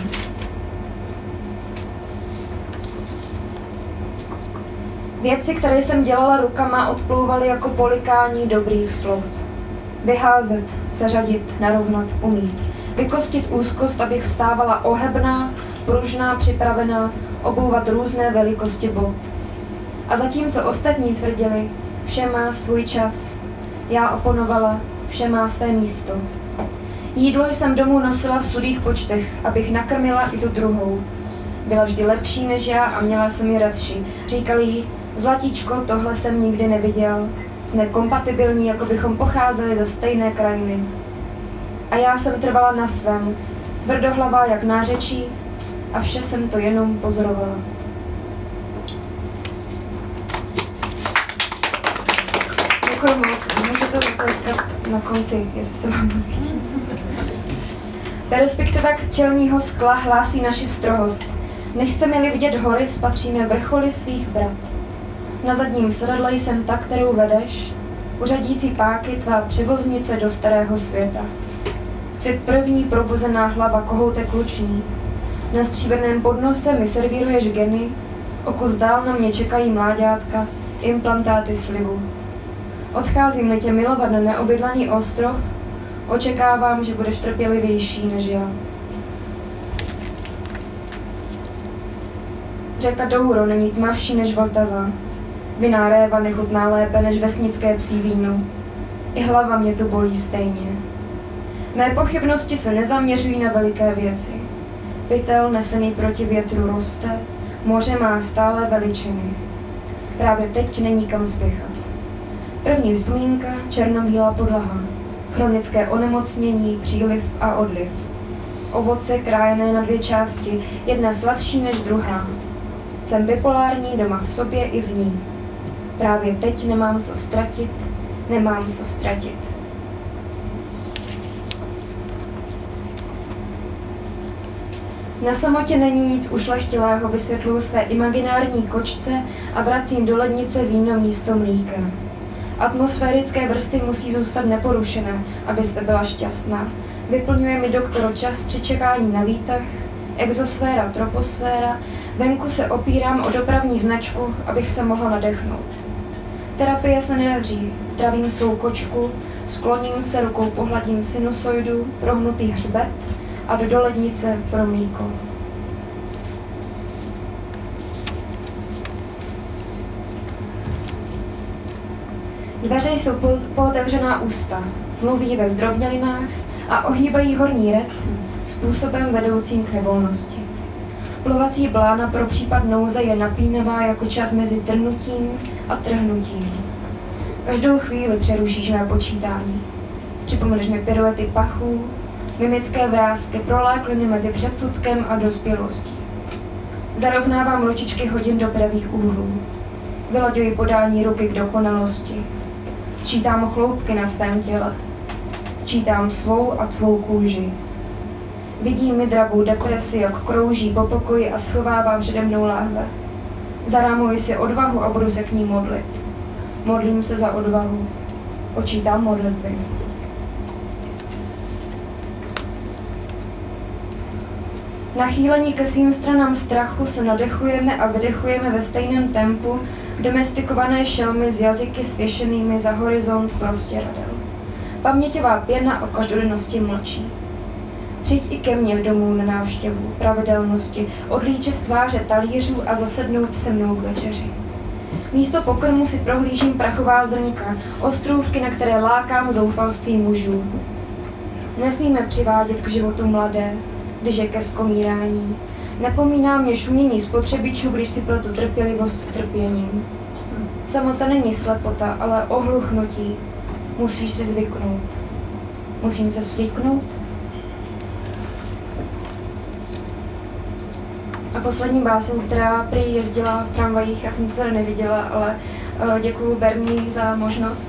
Věci, které jsem dělala rukama, odplouvaly jako polikání dobrých slov. Vyházet, seřadit, narovnat, umít. Vykostit úzkost, abych vstávala ohebná, pružná, připravená, obouvat různé velikosti bot. A zatímco ostatní tvrdili, vše má svůj čas, já oponovala, vše má své místo. Jídlo jsem domů nosila v sudých počtech, abych nakrmila i tu druhou. Byla vždy lepší než já a měla jsem ji radši. Říkali jí, zlatíčko, tohle jsem nikdy neviděl. Jsme kompatibilní, jako bychom pocházeli ze stejné krajiny. A já jsem trvala na svém, tvrdohlavá jak nářečí, a vše jsem to jenom pozorovala. Děkuji moc, můžete zatleskat na konci, jestli se vám líbí. Perspektiva čelního skla hlásí naši strohost. Nechceme-li vidět hory, spatříme vrcholy svých vrat. Na zadním sedadle jsem ta, kterou vedeš, uřadící páky tvá převoznice do starého světa. Jsi první probuzená hlava kohoutek luční. Na stříbrném podnose mi servíruješ geny, o kus dál na mě čekají mláďátka, implantáty slibu. Odcházím-li tě milovat na neobydlaný ostrov, očekávám, že budeš trpělivější než já. Řeka Douro není tmavší než Vltava. Vinná réva nechutná lépe než vesnické psí víno. I hlava mě tu bolí stejně. Mé pochybnosti se nezaměřují na veliké věci. Pytel nesený proti větru roste, moře má stále veličiny. Právě teď není kam spěchat. První vzpomínka, černobílá podlaha. Chronické onemocnění, příliv a odliv. Ovoce krájené na dvě části, jedna sladší než druhá. Jsem bipolární doma v sobě i v ní. Právě teď nemám co ztratit, nemám co ztratit. Na samotě není nic ušlechtilého, vysvětluju své imaginární kočce a vracím do lednice víno místo mlíka. Atmosférické vrsty musí zůstat neporušené, abyste byla šťastná. Vyplňuje mi doktor čas při čekání na výtah, exosféra, troposféra, venku se opírám o dopravní značku, abych se mohla nadechnout. Terapie se nedaří, zdravím svou kočku, skloním se, rukou pohladím sinusoidu, prohnutý hřbet a do dolednice pro mlíko. Dveře jsou pootevřená ústa, mluví ve zdrobnělinách a ohýbají horní red způsobem vedoucím k nevolnosti. Plovací blána pro případ nouze je napínavá jako čas mezi trhnutím a trhnutím. Každou chvíli přerušíš mé počítání. Připomeneš mi piruety pachů, mimické vrásky, prolákliny mezi předsudkem a dospělostí. Zarovnávám ručičky hodin do pravých úhlů. Vylaďuji podání ruky k dokonalosti. Sčítám chloupky na svém těle. Sčítám svou a tvou kůži. Vidím mi dravou depresi, jak krouží po pokoji a schovává přede mnou láhve. Zarámuji si odvahu a budu se k ní modlit. Modlím se za odvahu. Počítám modlitby. Nachýlení ke svým stranám strachu se nadechujeme a vydechujeme ve stejném tempu domestikované šelmy s jazyky svěšenými za horizont prostěradel. Paměťová pěna o každodennosti mlčí. Přijď i ke mně domů na návštěvu, pravidelnosti, odlíčet tváře talířů a zasednout se mnou k večeři. Místo pokrmu si prohlížím prachová zrnka, ostrůvky, na které lákám zoufalství mužů. Nesmíme přivádět k životu mladé, když je ke skomírání. Nepomíná mě šumění spotřebičů, když si pletu trpělivost s trpěním. Samota není slepota, ale ohluchnutí. Musíš si zvyknout. Musím se svlíknout? A poslední báseň, která prý jezdila v tramvajích, já jsem to tady neviděla, ale uh, děkuju Berní za možnost.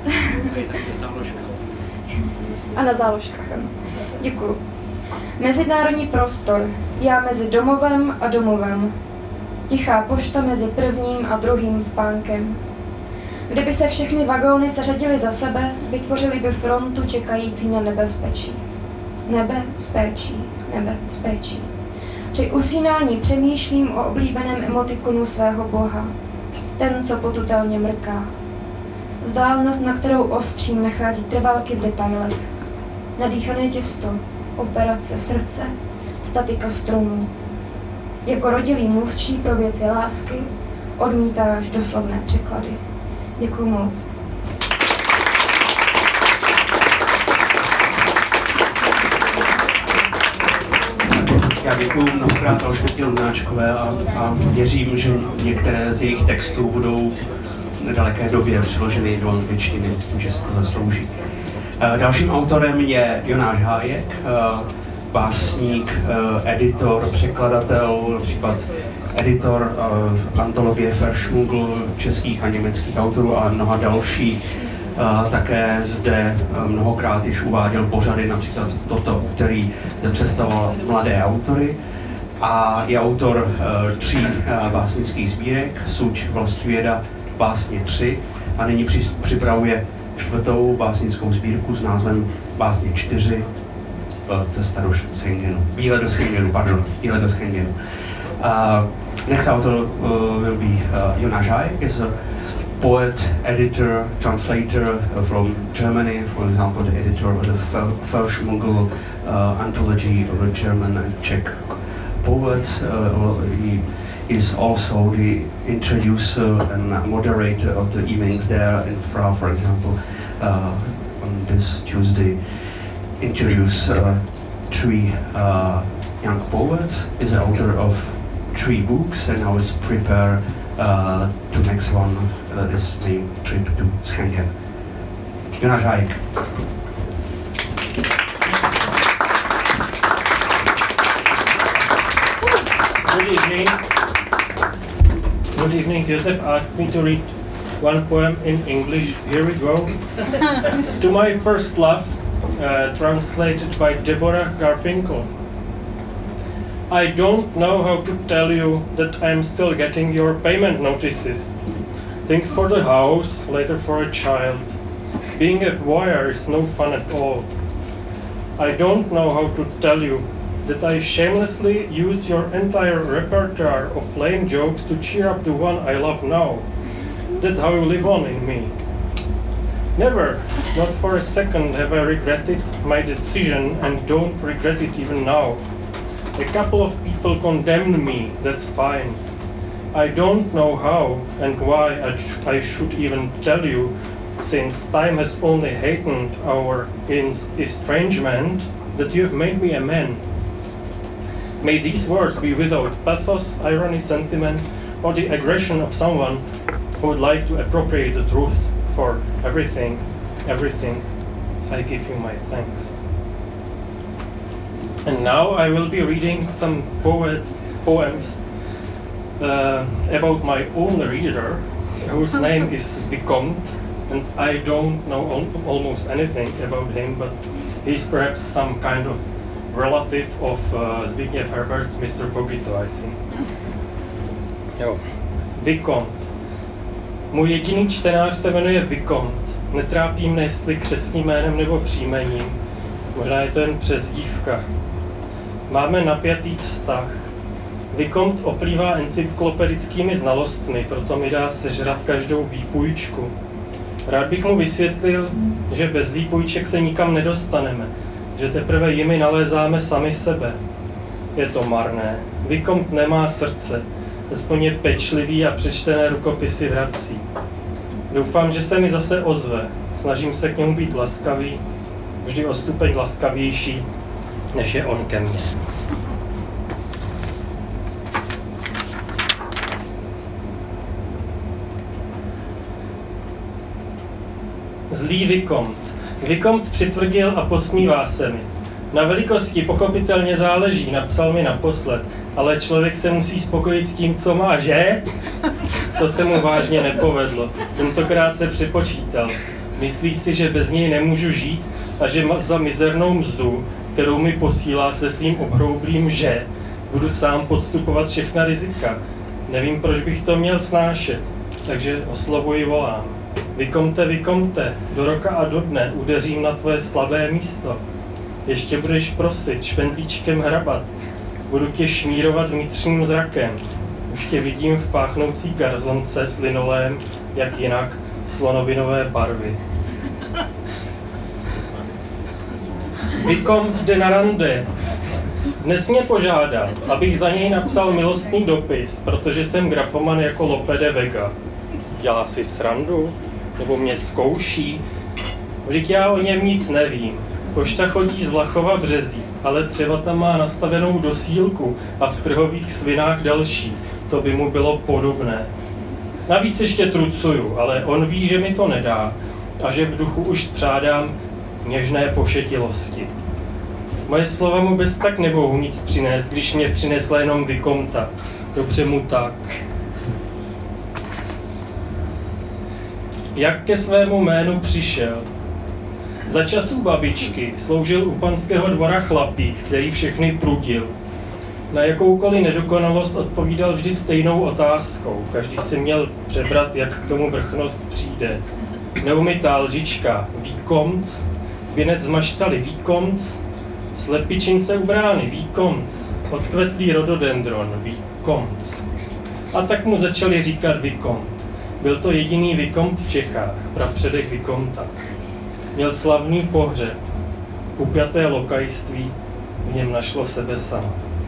A na záložkách, ano. Děkuju. Mezinárodní prostor. Já mezi domovem a domovem. Tichá pošta mezi prvním a druhým spánkem. Kdyby se všechny vagóny seřadily za sebe, vytvořili by frontu čekající na nebezpečí. Nebezpečí, nebezpečí. Při usínání přemýšlím o oblíbeném emotikonu svého boha. Ten, co potutelně mrká. Vzdálenost, na kterou ostřím, nachází trvalky v detailech. Nadýchané těsto, operace srdce, statika strunů. Jako rodilý mluvčí pro věci lásky odmítáš doslovné překlady. Děkuju moc. Já děkuju mnohokrát Alžbětě Lunáčkové a, a věřím, že některé z jejich textů budou v nedaleké době přeloženy do angličtiny. Myslím, že se to zaslouží. Dalším autorem je Jonáš Hájek, básník, editor, překladatel, například editor antologie Verschmuggl českých a německých autorů a mnoha dalších. Také zde mnohokrát již uváděl pořady, například toto, který zde představoval mladé autory. A je autor tří básnických sbírek, Suč, Vlastivěda, Básně tři, a nyní připravuje čtvrtou básnickou sbírku s názvem Básně čtyři, Cesta do Schengenu. Výlet do Schengenu, pardon, Výlet do Schengenu. Uh, next author uh, will be uh, Jonáš Hájek, is a poet, editor, translator uh, from Germany, for example, the editor of the Verschmuggl uh, anthology of the German and Czech poets. Uh, he is also the introducer and moderator of the evenings there in Fra, for example. Uh, on this Tuesday, introduce uh, three uh, young poets. Is the author of three books, and now is prepare uh, to next one. Uh, is named Trip to Schengen. Jonáš Hájek. Good evening. Good evening. Josef asked me to read one poem in English. Here we go. To My First Love, uh, translated by Deborah Garfinkel. I don't know how to tell you that I'm still getting your payment notices. Things for the house, later for a child. Being a voyeur is no fun at all. I don't know how to tell you that I shamelessly use your entire repertoire of lame jokes to cheer up the one I love now. That's how you live on in me. Never, not for a second, have I regretted my decision, and don't regret it even now. A couple of people condemned me, that's fine. I don't know how and why I, sh- I should even tell you, since time has only heightened our ins- estrangement, that you have made me a man. May these words be without pathos, irony, sentiment, or the aggression of someone who would like to appropriate the truth for everything, everything. I give you my thanks. And now I will be reading some poets, poems uh, about my own reader, whose name is Vicomte, and I don't know al- almost anything about him, but he's perhaps some kind of relative of uh, Zbigniew Herbert's Mister Cogito, I think. Jo. Vicomte. Můj jediný čtenář se jmenuje Vicomte. Netrápí mne, jestli křestním jménem nebo příjmením. Možná je to jen přezdívka. Máme napjatý vztah. Vicomte oplývá encyklopedickými znalostmi, proto mi dá sežrat každou výpůjčku. Rád bych mu vysvětlil, že bez výpůjček se nikam nedostaneme, že teprve jimi nalézáme sami sebe. Je to marné. Vicomte nemá srdce, aspoň je pečlivý a přečtené rukopisy vrací. Doufám, že se mi zase ozve. Snažím se k němu být laskavý, vždy o stupeň laskavější, než je on ke mně. Zlý Vicomte. Vicomte přitvrdil a posmívá se mi. Na velikosti pochopitelně záleží, napsal mi naposled, ale člověk se musí spokojit s tím, co má, že? To se mu vážně nepovedlo. Tentokrát se připočítal. Myslí si, že bez něj nemůžu žít a že za mizernou mzdu, kterou mi posílá se svým obhroublým že, budu sám podstupovat všechna rizika. Nevím, proč bych to měl snášet, takže oslovuji volám. Vikomte, Vikomte, do roka a do dne udeřím na tvoje slabé místo. Ještě budeš prosit, špendlíčkem hrabat, budu tě šmírovat vnitřním zrakem. Už tě vidím v páchnoucí garzonce s linolém, jak jinak, slonovinové barvy. Vicomte de Narande dnes mě požádal, abych za něj napsal milostný dopis, protože jsem grafoman jako Lope de Vega. Dělá si srandu? Nebo mě zkouší? Vždyť já o něm nic nevím. Pošta chodí z Vlachova Březí, ale třeba tam má nastavenou dosílku a v trhových svinách další. To by mu bylo podobné. Navíc ještě trucuju, ale on ví, že mi to nedá a že v duchu už spřádám něžné pošetilosti. Moje slova mu bez tak nemohou nic přinést, když mě přinesla jenom Vikomta. Dobře mu tak. Jak ke svému jménu přišel? Za časů babičky sloužil u panského dvora chlapík, který všechny prudil. Na jakoukoliv nedokonalost odpovídal vždy stejnou otázkou. Každý si měl přebrat, jak k tomu vrchnost přijde. Neumytá lžička, Vicomte, věnec z maštaly, Vicomte, slepičince u brány, Vicomte, odkvetlý rododendron, Vicomte. A tak mu začali říkat Vicomte. Byl to jediný Vicomte v Čechách, prapředek Vicomta. Měl slavný pohřeb, upjaté lokajství, v něm našlo sebe sama.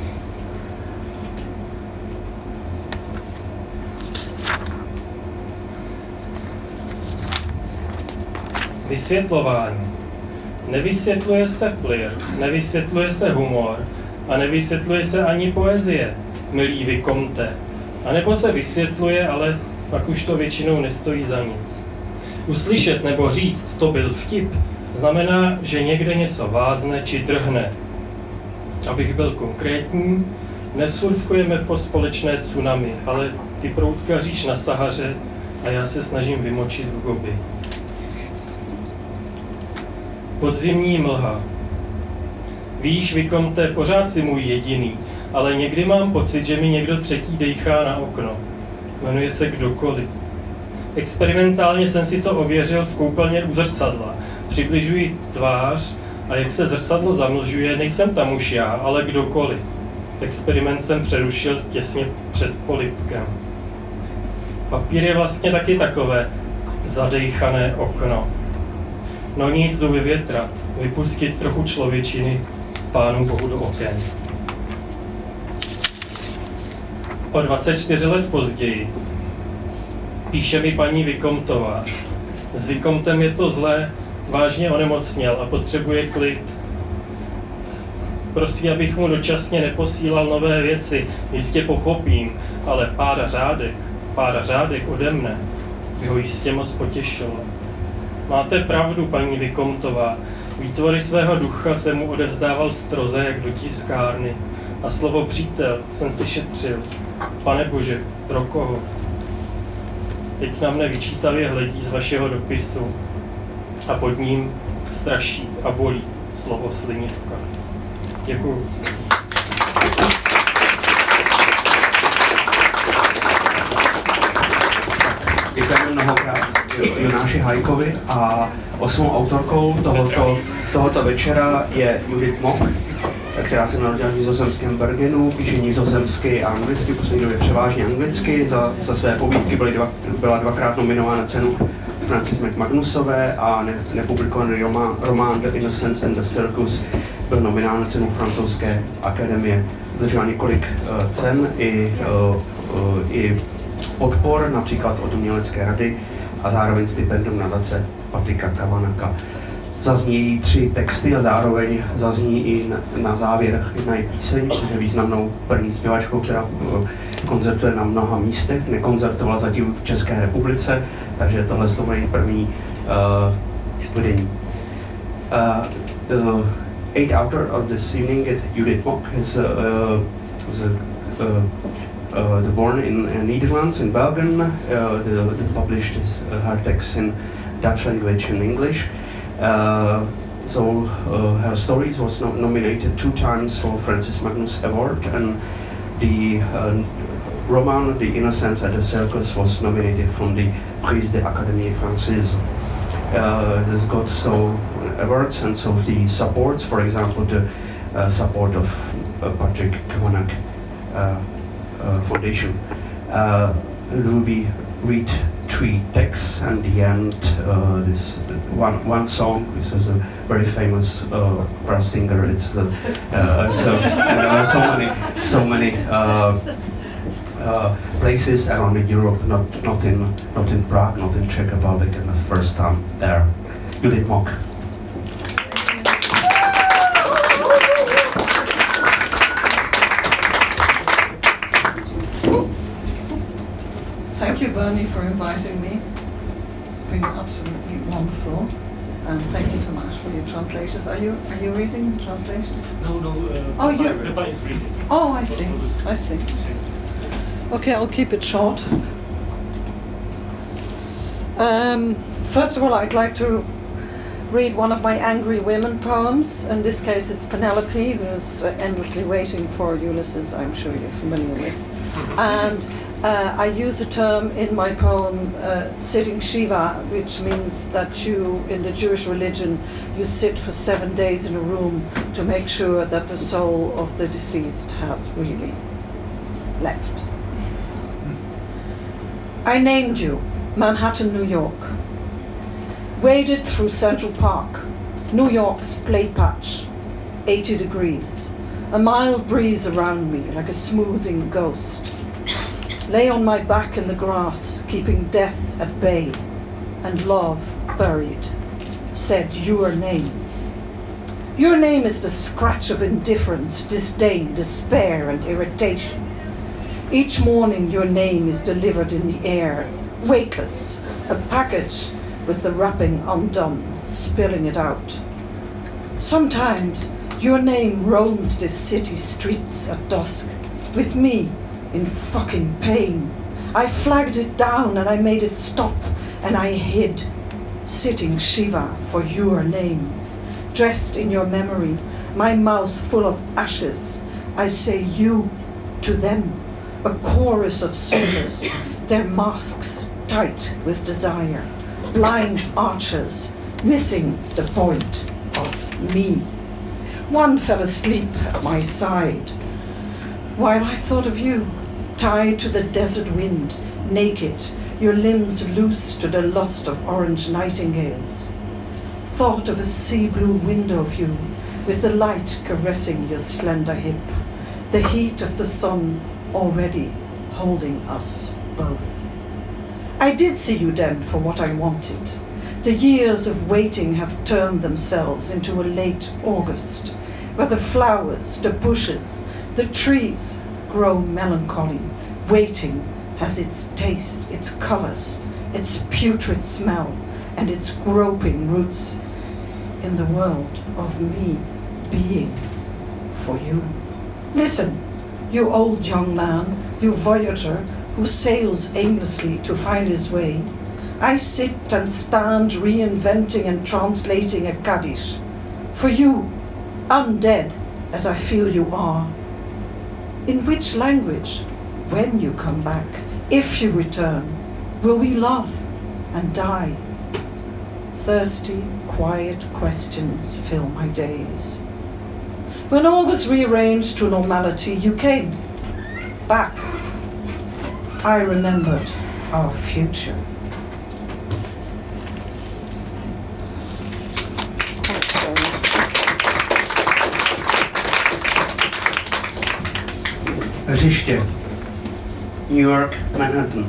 Vysvětlování. Nevysvětluje se flirt, nevysvětluje se humor a nevysvětluje se ani poezie, milý Vicomte. A nebo se vysvětluje, ale pak už to většinou nestojí za nic. Uslyšet nebo říct, to byl vtip, znamená, že někde něco vázne či drhne. Abych byl konkrétní, nesurfujeme po společné tsunami, ale ty proutkaříš na Sahaře a já se snažím vymočit v Gobi. Podzimní mlha. Víš, Vicomte, pořád si můj jediný, ale někdy mám pocit, že mi někdo třetí dejchá na okno. Jmenuje se kdokoliv. Experimentálně jsem si to ověřil v koupelně u zrcadla. Přibližuji tvář a jak se zrcadlo zamlžuje, nejsem tam už já, ale kdokoliv. Experiment jsem přerušil těsně před polibkem. Papír je vlastně taky takové zadejchané okno. No nic, jdu vyvětrat, vypustit trochu člověčiny Pánu Bohu do oken. O dvacet čtyři let později píše mi paní Vicomtová. S Vicomtem je to zlé, vážně onemocněl a potřebuje klid. Prosí, abych mu dočasně neposílal nové věci, jistě pochopím, ale pár řádek, pár řádek ode mne by ho jistě moc potěšilo. Máte pravdu, paní Vicomtová, výtvory svého ducha jsem mu odevzdával stroze jak do tiskárny a slovo přítel jsem si šetřil. Pane Bože, pro koho? Teď na mne vyčítavě hledí z vašeho dopisu a pod ním straší a bolí slovo slinivka. Děkuju. Děkujeme mnohokrát Jonáši Hajkovi a osmou autorkou tohoto, tohoto večera je Judith Mock, která se narodila v nizozemském Bergenu, píše nizozemsky a anglicky, poslední době převážně anglicky. Za, za své povídky byly dva, byla dvakrát nominována cenu Frances McManusové a ne, nepublikovaný román, román The Innocence and the Circus byl nominován na cenu francouzské akademie. Udržela několik uh, cen i, uh, uh, i podpor, například od Umělecké rady a zároveň stipendium nadace Patrika Kavanaka. Zazní jí tři texty a zároveň zazní i na, na závěr jedna píseň, protože je významnou první zpěvačkou, která koncertuje na mnoha místech, nekoncertovala zatím v České republice, takže tohle je její první uh, vedení. Uh, the eighth author of this evening is Judith Mock, is, uh, was a, uh, uh, the born in uh, Netherlands, in Belgium, uh, the, the published his, uh, her texts in Dutch language and English. Uh, so uh, her stories was no nominated two times for Francis Magnus Award, and the uh, Roman, The Innocents at the Circus, was nominated from the Prix de l'Académie Française. Uh, it has got so awards and so the supports, for example, the uh, support of uh, Patrick Kavanagh uh, uh, Foundation. Uh, Ruby read three texts and the end uh, this one one song, which is a very famous uh, brass singer. It's uh, uh, so, uh, so many so many uh, uh, places around Europe, not not in not in Prague, not in Czech Republic, and the first time there. Judith Mock. Thank you, Bernie, for inviting me. It's been absolutely wonderful, and thank you, Tomasz, for your translations. Are you are you reading the translations? No, no. Uh, oh, you. Peppa is reading. Oh, I see. I see. Okay, I'll keep it short. Um, first of all, I'd like to read one of my Angry Women poems. In this case, it's Penelope, who's uh, endlessly waiting for Ulysses. I'm sure you're familiar with, and. Uh, I use a term in my poem, uh, sitting Shiva, which means that you, in the Jewish religion, you sit for seven days in a room to make sure that the soul of the deceased has really left. I named you, Manhattan, New York. Waded through Central Park, New York's play patch, eighty degrees, a mild breeze around me like a smoothing ghost. Lay on my back in the grass, keeping death at bay, and love buried, said your name. Your name is the scratch of indifference, disdain, despair, and irritation. Each morning your name is delivered in the air, weightless, a package with the wrapping undone, spilling it out. Sometimes your name roams the city streets at dusk, with me, in fucking pain. I flagged it down and I made it stop, and I hid, sitting Shiva for your name. Dressed in your memory, my mouth full of ashes, I say you to them, a chorus of suitors, their masks tight with desire, blind archers, missing the point of me. One fell asleep at my side, while I thought of you, tied to the desert wind, naked, your limbs loose to the lust of orange nightingales. Thought of a sea blue window view, with the light caressing your slender hip, the heat of the sun already holding us both. I did see you then for what I wanted. The years of waiting have turned themselves into a late August, where the flowers, the bushes, the trees grow melancholy. Waiting has its taste, its colors, its putrid smell, and its groping roots in the world of me being for you. Listen, you old young man, you voyager who sails aimlessly to find his way. I sit and stand reinventing and translating a Kaddish. For you, undead as I feel you are. In which language, when you come back, if you return, will we love and die? Thirsty, quiet questions fill my days. When all was rearranged to normality, you came back. I remembered our future. Hřiště. New York, Manhattan.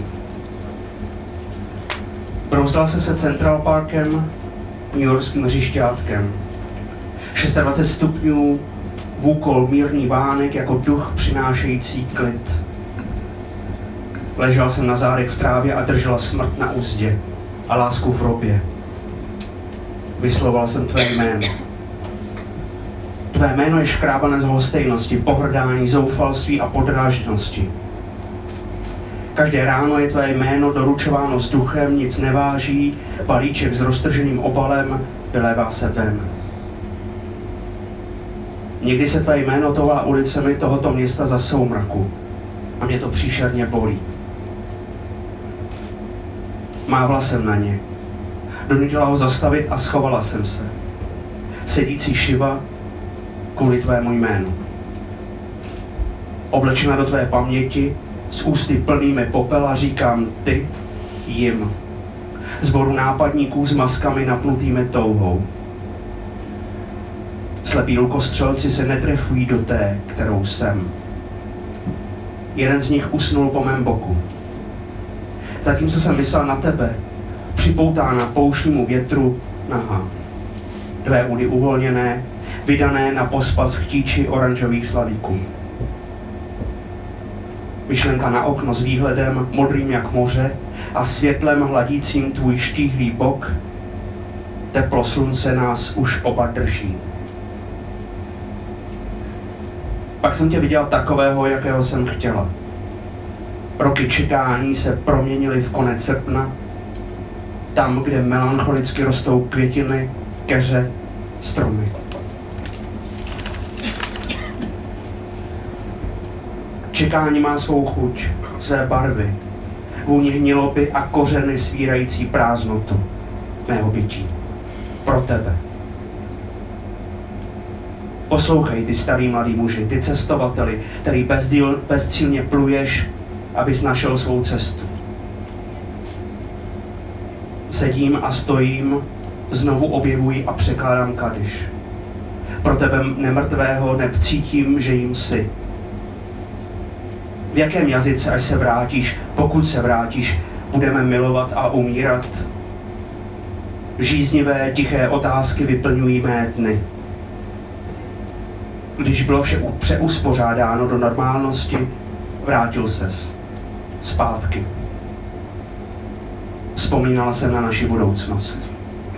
Brouzdal se se Central Parkem, newyorským hřišťátkem. dvacet šest stupňů, vůkol mírný vánek jako duch přinášející klid. Ležel jsem na zádech v trávě a držela smrt na úzdě a lásku v robě. Vysloval jsem tvé jméno. Tvé jméno je škrábané z lhostejnosti, pohrdání, zoufalství a podrážděnosti. Každé ráno je tvé jméno doručováno vzduchem, nic neváží, balíček s roztrženým obalem vylévá se ven. Někdy se tvé jméno toulá ulicemi tohoto města za soumraku. a mě to příšerně bolí. Mávla jsem na ně. Donutila ho zastavit a schovala jsem se. Sedící Šiva kvůli tvému jménu. Oblečena do tvé paměti, s ústy plnými popela říkám ty jim. Zboru nápadníků s maskami napnutými touhou. Slepí lukostřelci se netrefují do té, kterou jsem. Jeden z nich usnul po mém boku. Zatímco jsem myslel na tebe, připoutána pouštnímu větru, nahá. Dvé údy uvolněné, vydané na pospas chtíči oranžových slavíků. Myšlenka na okno s výhledem modrým jak moře a světlem hladícím tvůj štíhlý bok. Teplo slunce nás už oba drží. Pak jsem tě viděl takového, jakého jsem chtěla. Roky čekání se proměnily v konec srpna, tam, kde melancholicky rostou květiny, keře, stromy. Čekání má svou chuť, své barvy, vůni hniloby a kořeny svírající prázdnotu mého bytí. Pro tebe. Poslouchej, ty starý mladý muži, ty cestovateli, který bezdíl, bezcílně pluješ, abys našel svou cestu. Sedím a stojím, znovu objevuji a překládám kadiš. Pro tebe nemrtvého neb cítím, že jim jsi. V jakém jazyce, až se vrátíš, pokud se vrátíš, budeme milovat a umírat? Žíznivé, tiché otázky vyplňují mé dny. Když bylo vše přeuspořádáno do normálnosti, vrátil ses. Zpátky. Vzpomínala jsem na naši budoucnost.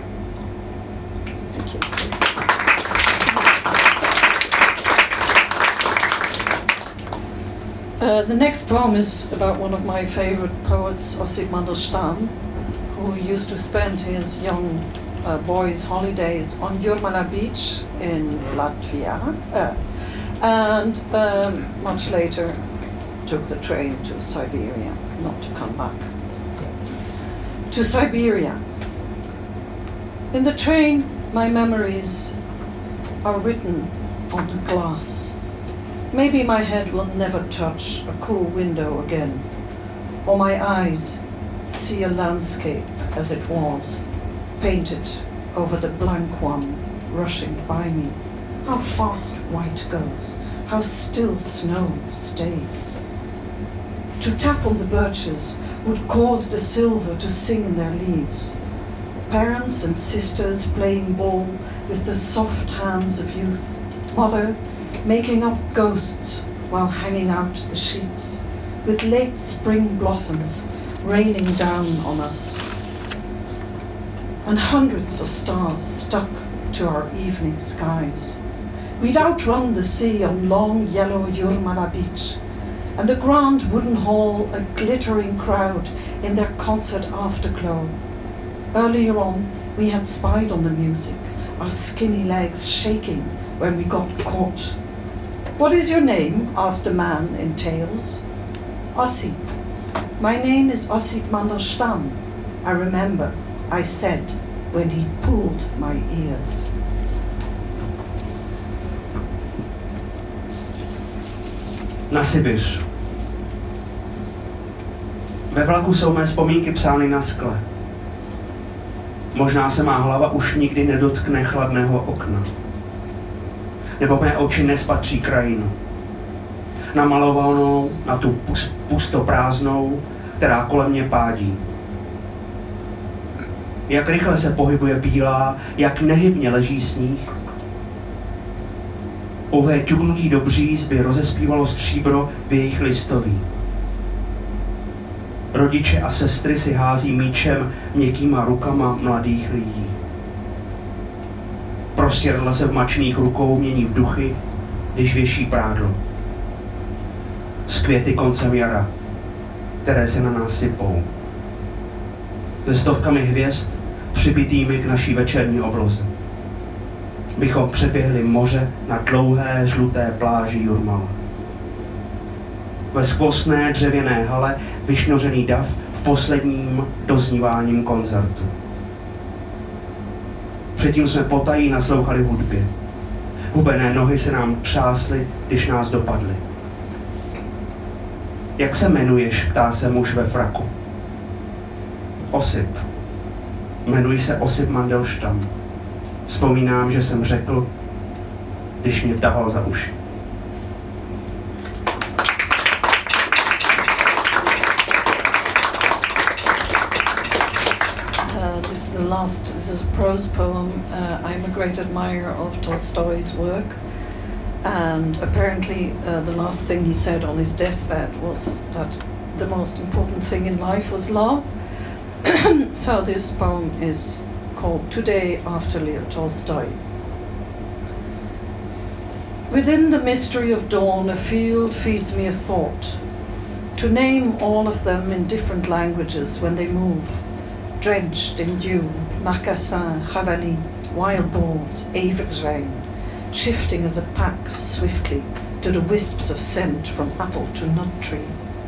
Uh, the next poem is about one of my favorite poets, Ossip Mandelstam, who used to spend his young uh, boys' holidays on Jurmala beach in Latvia, uh, and um, much later took the train to Siberia, not to come back. To Siberia. In the train, my memories are written on the glass. Maybe my head will never touch a cool window again, or my eyes see a landscape as it was, painted over the blank one rushing by me. How fast white goes, how still snow stays. To tap on the birches would cause the silver to sing in their leaves. Parents and sisters playing ball with the soft hands of youth. Mother making up ghosts while hanging out the sheets, with late spring blossoms raining down on us. And hundreds of stars stuck to our evening skies. We'd outrun the sea on long yellow Jurmala beach, and the grand wooden hall a glittering crowd in their concert afterglow. Earlier on, we had spied on the music, our skinny legs shaking when we got caught. What is your name? Asked a man in tails. Ossip. My name is Ossip Mandelstam. I remember, I said, when he pulled my ears. Na Sibiř. Ve vlaku jsou mé vzpomínky psány na skle. Možná se má hlava už nikdy nedotkne chladného okna. Nebo mé oči nespatří krajinu. Namalovanou na tu pustoprázdnou, která kolem mě pádí. Jak rychle se pohybuje bílá, jak nehybně leží sníh. Pouhé ťuknutí do bříz by rozespívalo stříbro v jejich listoví. Rodiče a sestry si hází míčem měkkýma rukama mladých lidí. Prostěrdla se v mačných rukou mění v duchy, když věší prádlo. S květy koncem jara, které se na nás sypou. Se stovkami hvězd přibitými k naší večerní obloze. Bychom přeběhli moře na dlouhé žluté pláži Jurmala. ve skvostné dřevěné hale vyšnořený dav v posledním dozníváním koncertu. Předtím jsme potají naslouchali hudbě. Hubené nohy se nám třásly, když nás dopadly. Jak se jmenuješ, ptá se muž ve fraku. Osip. Jmenuji se Osip Mandelstam. Vzpomínám, že jsem řekl, když mě tahal za uši. The last, this is a prose poem. Uh, I'm a great admirer of Tolstoy's work, and apparently uh, the last thing he said on his deathbed was that the most important thing in life was love. So this poem is called Today After Leo Tolstoy. Within the mystery of dawn, a field feeds me a thought, to name all of them in different languages when they move. Drenched in dew, marcassin, javali, wild boars, evergreen, shifting as a pack swiftly to the wisps of scent from apple to nut tree.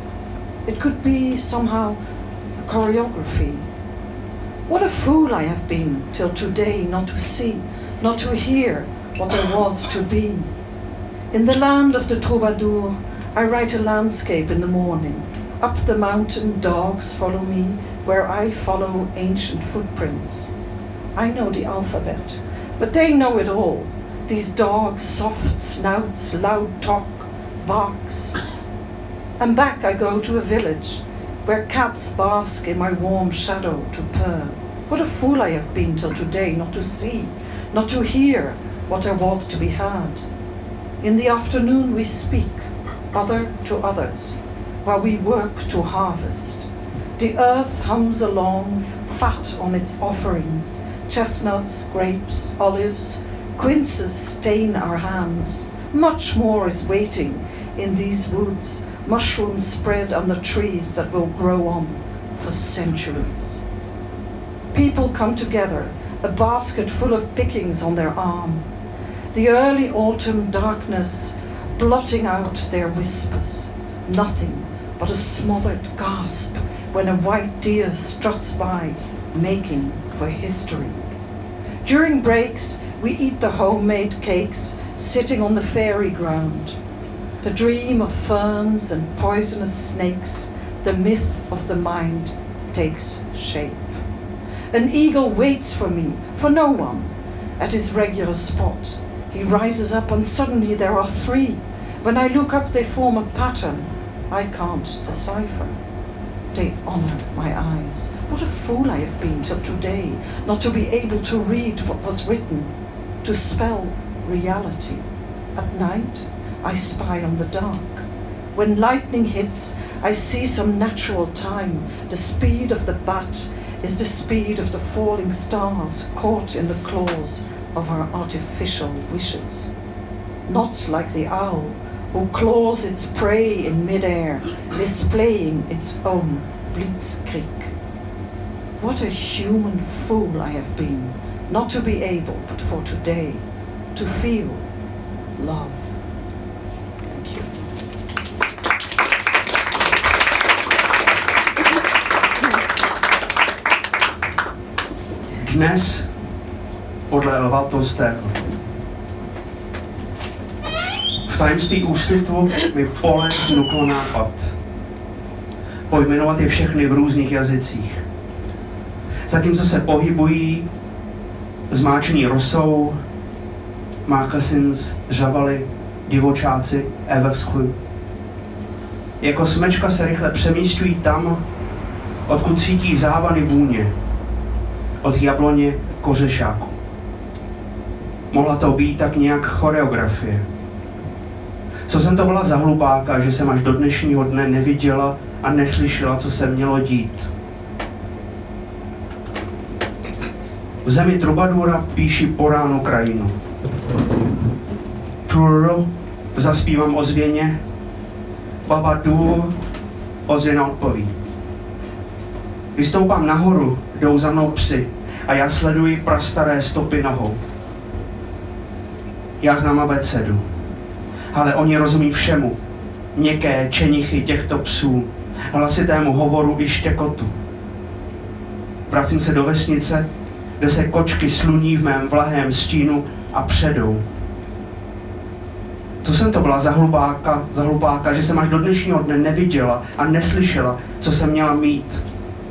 It could be somehow a choreography. What a fool I have been till today not to see, not to hear what there was to be. In the land of the troubadour, I write a landscape in the morning. Up the mountain, dogs follow me, where I follow ancient footprints. I know the alphabet, but they know it all. These dogs, soft snouts, loud talk, barks. And back I go to a village, where cats bask in my warm shadow to purr. What a fool I have been till today not to see, not to hear what there was to be had. In the afternoon we speak, other to others, while we work to harvest. The earth hums along, fat on its offerings. Chestnuts, grapes, olives, quinces stain our hands. Much more is waiting in these woods, mushrooms spread on the trees that will grow on for centuries. People come together, a basket full of pickings on their arm. The early autumn darkness blotting out their whispers. Nothing but a smothered gasp when a white deer struts by, making for history. During breaks, we eat the homemade cakes sitting on the fairy ground. The dream of ferns and poisonous snakes, the myth of the mind, takes shape. An eagle waits for me, for no one, at his regular spot. He rises up and suddenly there are three. When I look up, they form a pattern I can't decipher. They honor my eyes. What a fool I have been till today, not to be able to read what was written, to spell reality. At night, I spy on the dark. When lightning hits, I see some natural time. The speed of the bat is the speed of the falling stars caught in the claws of our artificial wishes. Not like the owl, who claws its prey in midair, displaying its own blitzkrieg. What a human fool I have been, not to be able, but for today, to feel love. Thank you. Dnes, podle Lva Tolstého, v tajemství úsvitu mi pole vnuklo nápad. Pojmenovat je všechny v různých jazycích. Zatímco se pohybují, zmáčení rosou, mákasins, žavaly, divočáci, everskły. Jako smečka se rychle přemísťují tam, odkud cítí závany vůně. Od jabloně k ořešáku. Mohla to být tak nějak choreografie. Co jsem to byla za hlupáka, že jsem až do dnešního dne neviděla a neslyšela, co se mělo dít. V zemi trubadura píši po ránu krajinu. Truro, zaspívám ozvěně, baba dur, ozvěna odpoví. Vystoupám nahoru, jdou za mnou psy a já sleduji prastaré stopy nohou. Já znám abecedu, ale oni rozumí všemu. měkké čenichy těchto psů, hlasitému hovoru i štěkotu. Vracím se do vesnice, kde se kočky sluní v mém vlahém stínu a předou. Co jsem to byla za hlupáka, za hlupáka, že jsem až do dnešního dne neviděla a neslyšela, co jsem měla mít.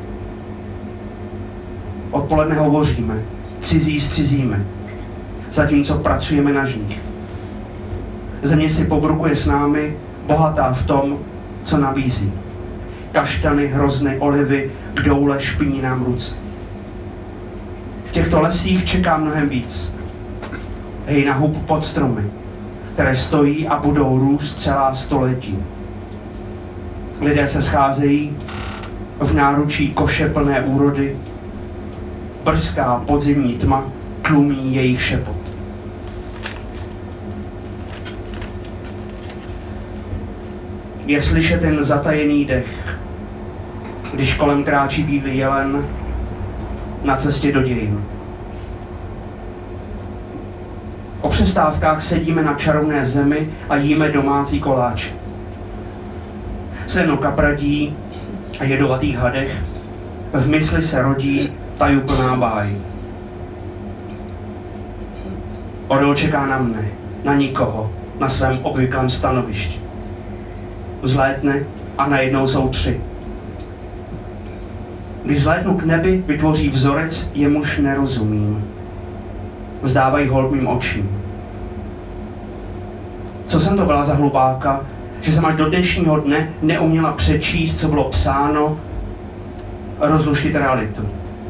Odpoledne hovoříme, cizí s cizími, zatímco pracujeme na žních. Země si pobrukuje s námi, bohatá v tom, co nabízí. Kaštany, hrozny, olivy, kdoule špiní nám ruce. V těchto lesích čeká mnohem víc. Hejna hub pod stromy, které stojí a budou růst celá století. Lidé se scházejí v náručí koše plné úrody. Brzká podzimní tma tlumí jejich šepot. Je slyšet jen zatajený dech, když kolem kráčí bílý jelen na cestě do dějin. O přestávkách sedíme na čarovné zemi a jíme domácí koláče. Seno kapradí a jedovatých hadech v mysli se rodí tajuplná báj. Orel čeká na mne, na nikoho, na svém obvyklém stanovišti. Vzlétne a najednou jsou tři. Když vzlétnu k nebi, vytvoří vzorec, jemuž nerozumím. Vzdávají hold mým očím. Co jsem to byla za hlupáka, že jsem až do dnešního dne neuměla přečíst, co bylo psáno, rozluštit realitu.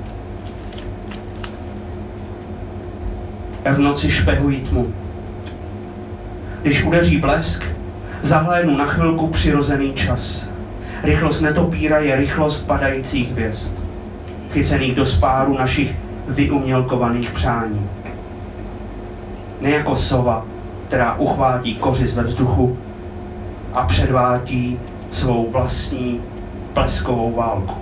V noci špehují tmu. Když udeří blesk, zahlédnu na chvilku přirozený čas. Rychlost netopíra je rychlost padajících hvězd, chycených do spáru našich vyumělkovaných přání. Ne jako sova, která uchvátí kořist ve vzduchu a předvádí svou vlastní bleskovou válku.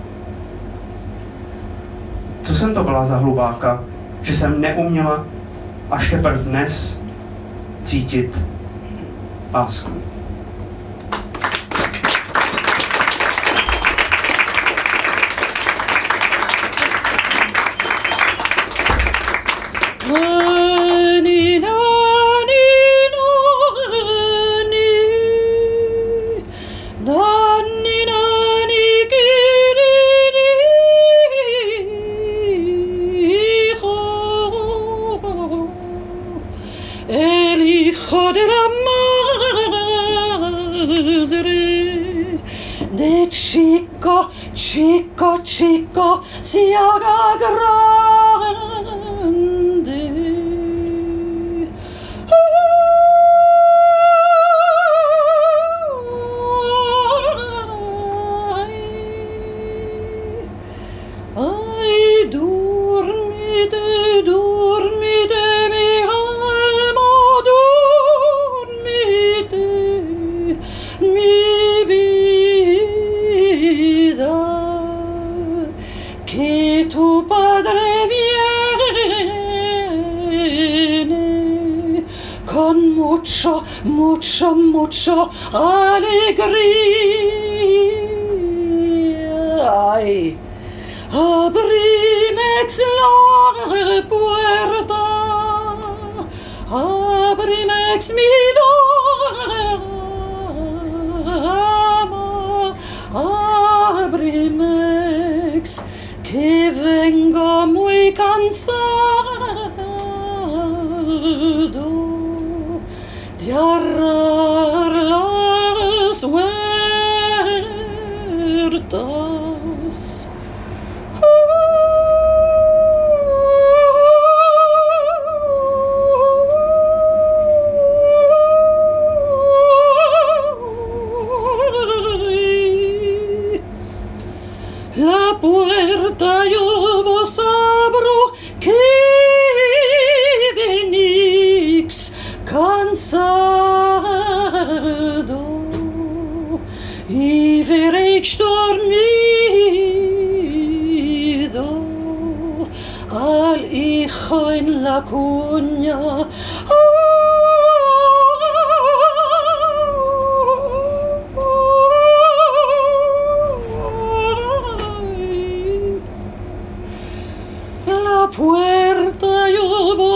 Co jsem to byla za hlubáka, že jsem neuměla až teprve dnes cítit lásku. Chico, chico, chico, si haga grande. Ay, dormite, dormite, mi alma, dormite, mi que tu padre viene con mucho, mucho, mucho alegría. Ay, abrimex la puerta, abrimex mi dama, abrimex que vengo muy cansado de arar las huertas. La puerta yo vos abro que venix cansado y veréis dormido al hijo en la cuña.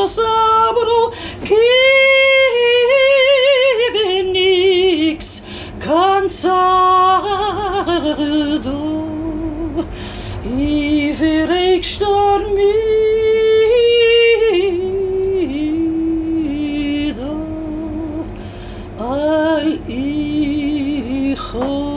sabro kivenix cansado iverek stormido al hijo